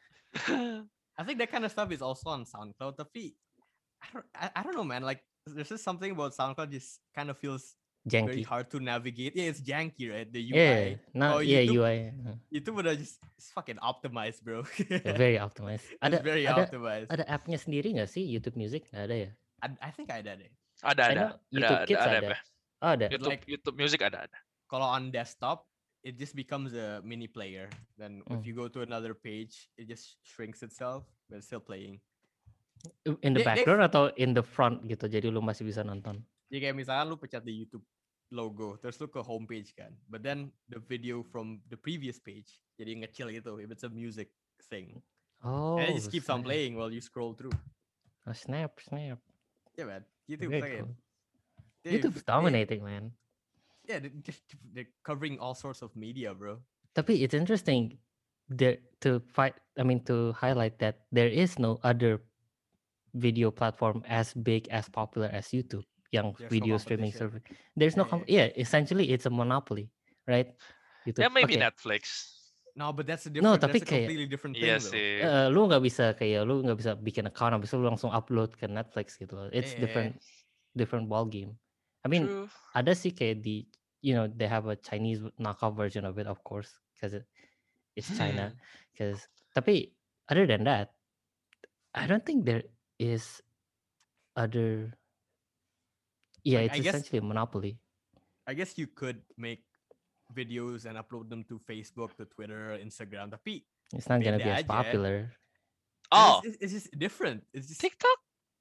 I think that kind of stuff is also on SoundCloud. Tapi I don't, I, I don't know, man. Like there's just something about SoundCloud just kind of feels very Janky. hard to navigate. Yeah, it's janky, right? The U I. Yeah, Oh, no, yeah, YouTube- U I uh, Itu udah just it's fucking optimized, bro. yeah, very optimized. It's Ada very ada optimized. ada appnya sendiri nggak sih YouTube Music? Nggak ada ya? I, I think I did it. Ada I ada. know YouTube ada, Kids ada, ada. ada. Oh, ada. YouTube Like- YouTube Music ada ada. Kalau on desktop, it just becomes a mini player. Then if Mm. you go to another page, it just shrinks itself, but it's still playing. In the They- they- background atau in the front gitu, jadi lu masih bisa nonton. Jadi kayak misalnya lu pencet di YouTube logo, terus lu ke homepage kan. But then the video from the previous page jadi ngecil gitu if it's a music thing. Oh, And it just keeps on snap. playing while you scroll through. Oh, snap, snap. Yeah, man. YouTube Very fucking- cool. they- YouTube's they- dominating, man. Yeah, they, they- they're covering all sorts of media, bro. Tapi it's interesting there to fight. I mean to highlight that there is no other video platform as big as popular as YouTube. Yang There's no video streaming competition. service. There's no Yeah, com- yeah. Essentially, it's a monopoly, right? YouTube. Ya maybe Oke, Netflix. No, but that's a No, different. tapi that's a kayak- completely different thing, Iya though. sih. eh, lu nggak bisa kayak lu nggak bisa bikin account habis itu lu langsung upload ke Netflix gitu loh. It's Yeah. different different ball game. I mean, True. ada sih kayak di you know they have a Chinese knockoff version of it of course because it, it's China. Hmm. Because tapi other than that, I don't think there is other. Yeah, Like, I it's guess- essentially a monopoly. I guess you could make videos and upload them to Facebook, to Twitter, Instagram. Tapi It's not gonna be Beda as aja. popular. Oh, it's, it's, it's just different. It's just TikTok.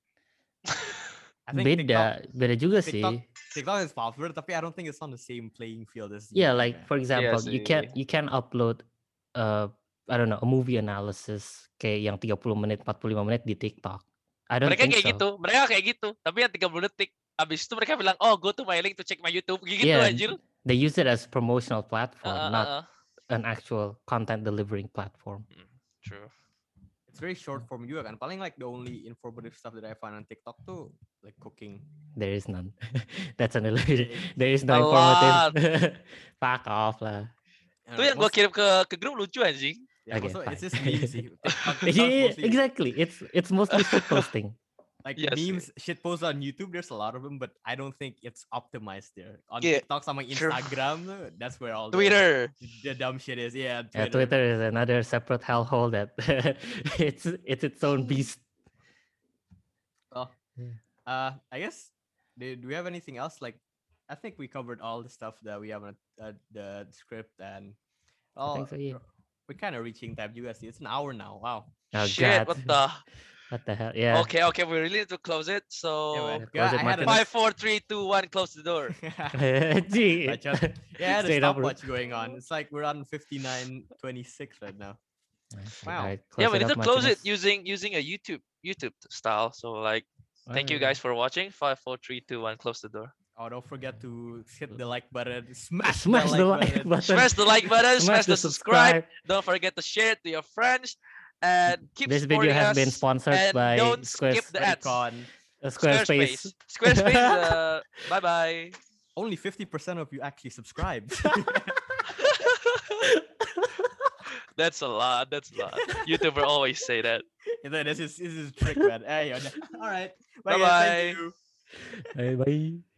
I think Beda, beda juga TikTok, sih. TikTok is popular, tapi I don't think it's on the same playing field as YouTube, Yeah, like man. for example, you can sih. you can upload uh I don't know a movie analysis kayak yang tiga puluh menit, empat puluh lima menit di TikTok. I don't Mereka think kayak so. gitu. Mereka kayak gitu. Tapi yang tiga puluh detik. Abis itu mereka bilang, oh go to my link to check my YouTube. Gitu Yeah, anjir. They use it as promotional platform, Uh, uh, not uh. an actual content delivering platform. Mm, true. It's very short form juga kan. Paling like the only informative stuff that I find on TikTok tuh like cooking. There is none. That's an illusion. Eh, There is A no lot. informative. Fuck off lah. I Tuh don't yang know, gue most- kirim ke ke grup lucu anjing. yeah, Okay, most of it- it's fine. just memes sih. TikTok, TikTok is Yeah, mostly exactly. It's it's mostly shit posting. like Yes. memes, shit posts on YouTube. There's a lot of them, but I don't think it's optimized there. On Yeah, TikTok sama true. Instagram, tuh, that's where all the, Twitter. the dumb shit is. Yeah, Yeah, Twitter. Twitter is another separate hellhole that it's it's its own beast. Well, Yeah. uh, I guess do, do we have anything else? Like, I think we covered all the stuff that we have on uh, the script, and I oh, think so, yeah. we're kind of reaching time. You guys see, it's an hour now. Wow. Oh Shit, god. what the? What the hell? Yeah. Okay, okay, we really need to close it. Yeah, So man. Close Yeah, it, I had Martin. a five, four, three, two, one, close the door. Gee. Bacot. Yeah, the Straight up, bro. stopwatch going on. It's like we're on fifty-nine twenty-six right now. Wow. Alright, Yeah, close we it need up, to close it Martinez. using using a YouTube YouTube style. So like, thank you guys for watching. Five, four, three, two, one, close the door. Oh, don't forget to hit the like button. Smash, Smash the the like like button. button. Smash the like button. Smash, Smash the subscribe. Don't forget to share it to your friends. And keep This video supporting has us. been sponsored and by don't Squares, skip the ads. Recon. uh, Squarespace. Squarespace. Squarespace. Uh, bye bye. Only fifty percent of you actually subscribed. That's a lot. That's a lot. YouTuber always say that. This is this is a trick, man. Hey, all right. Bye, Bye guys. bye. Thank you. Bye bye.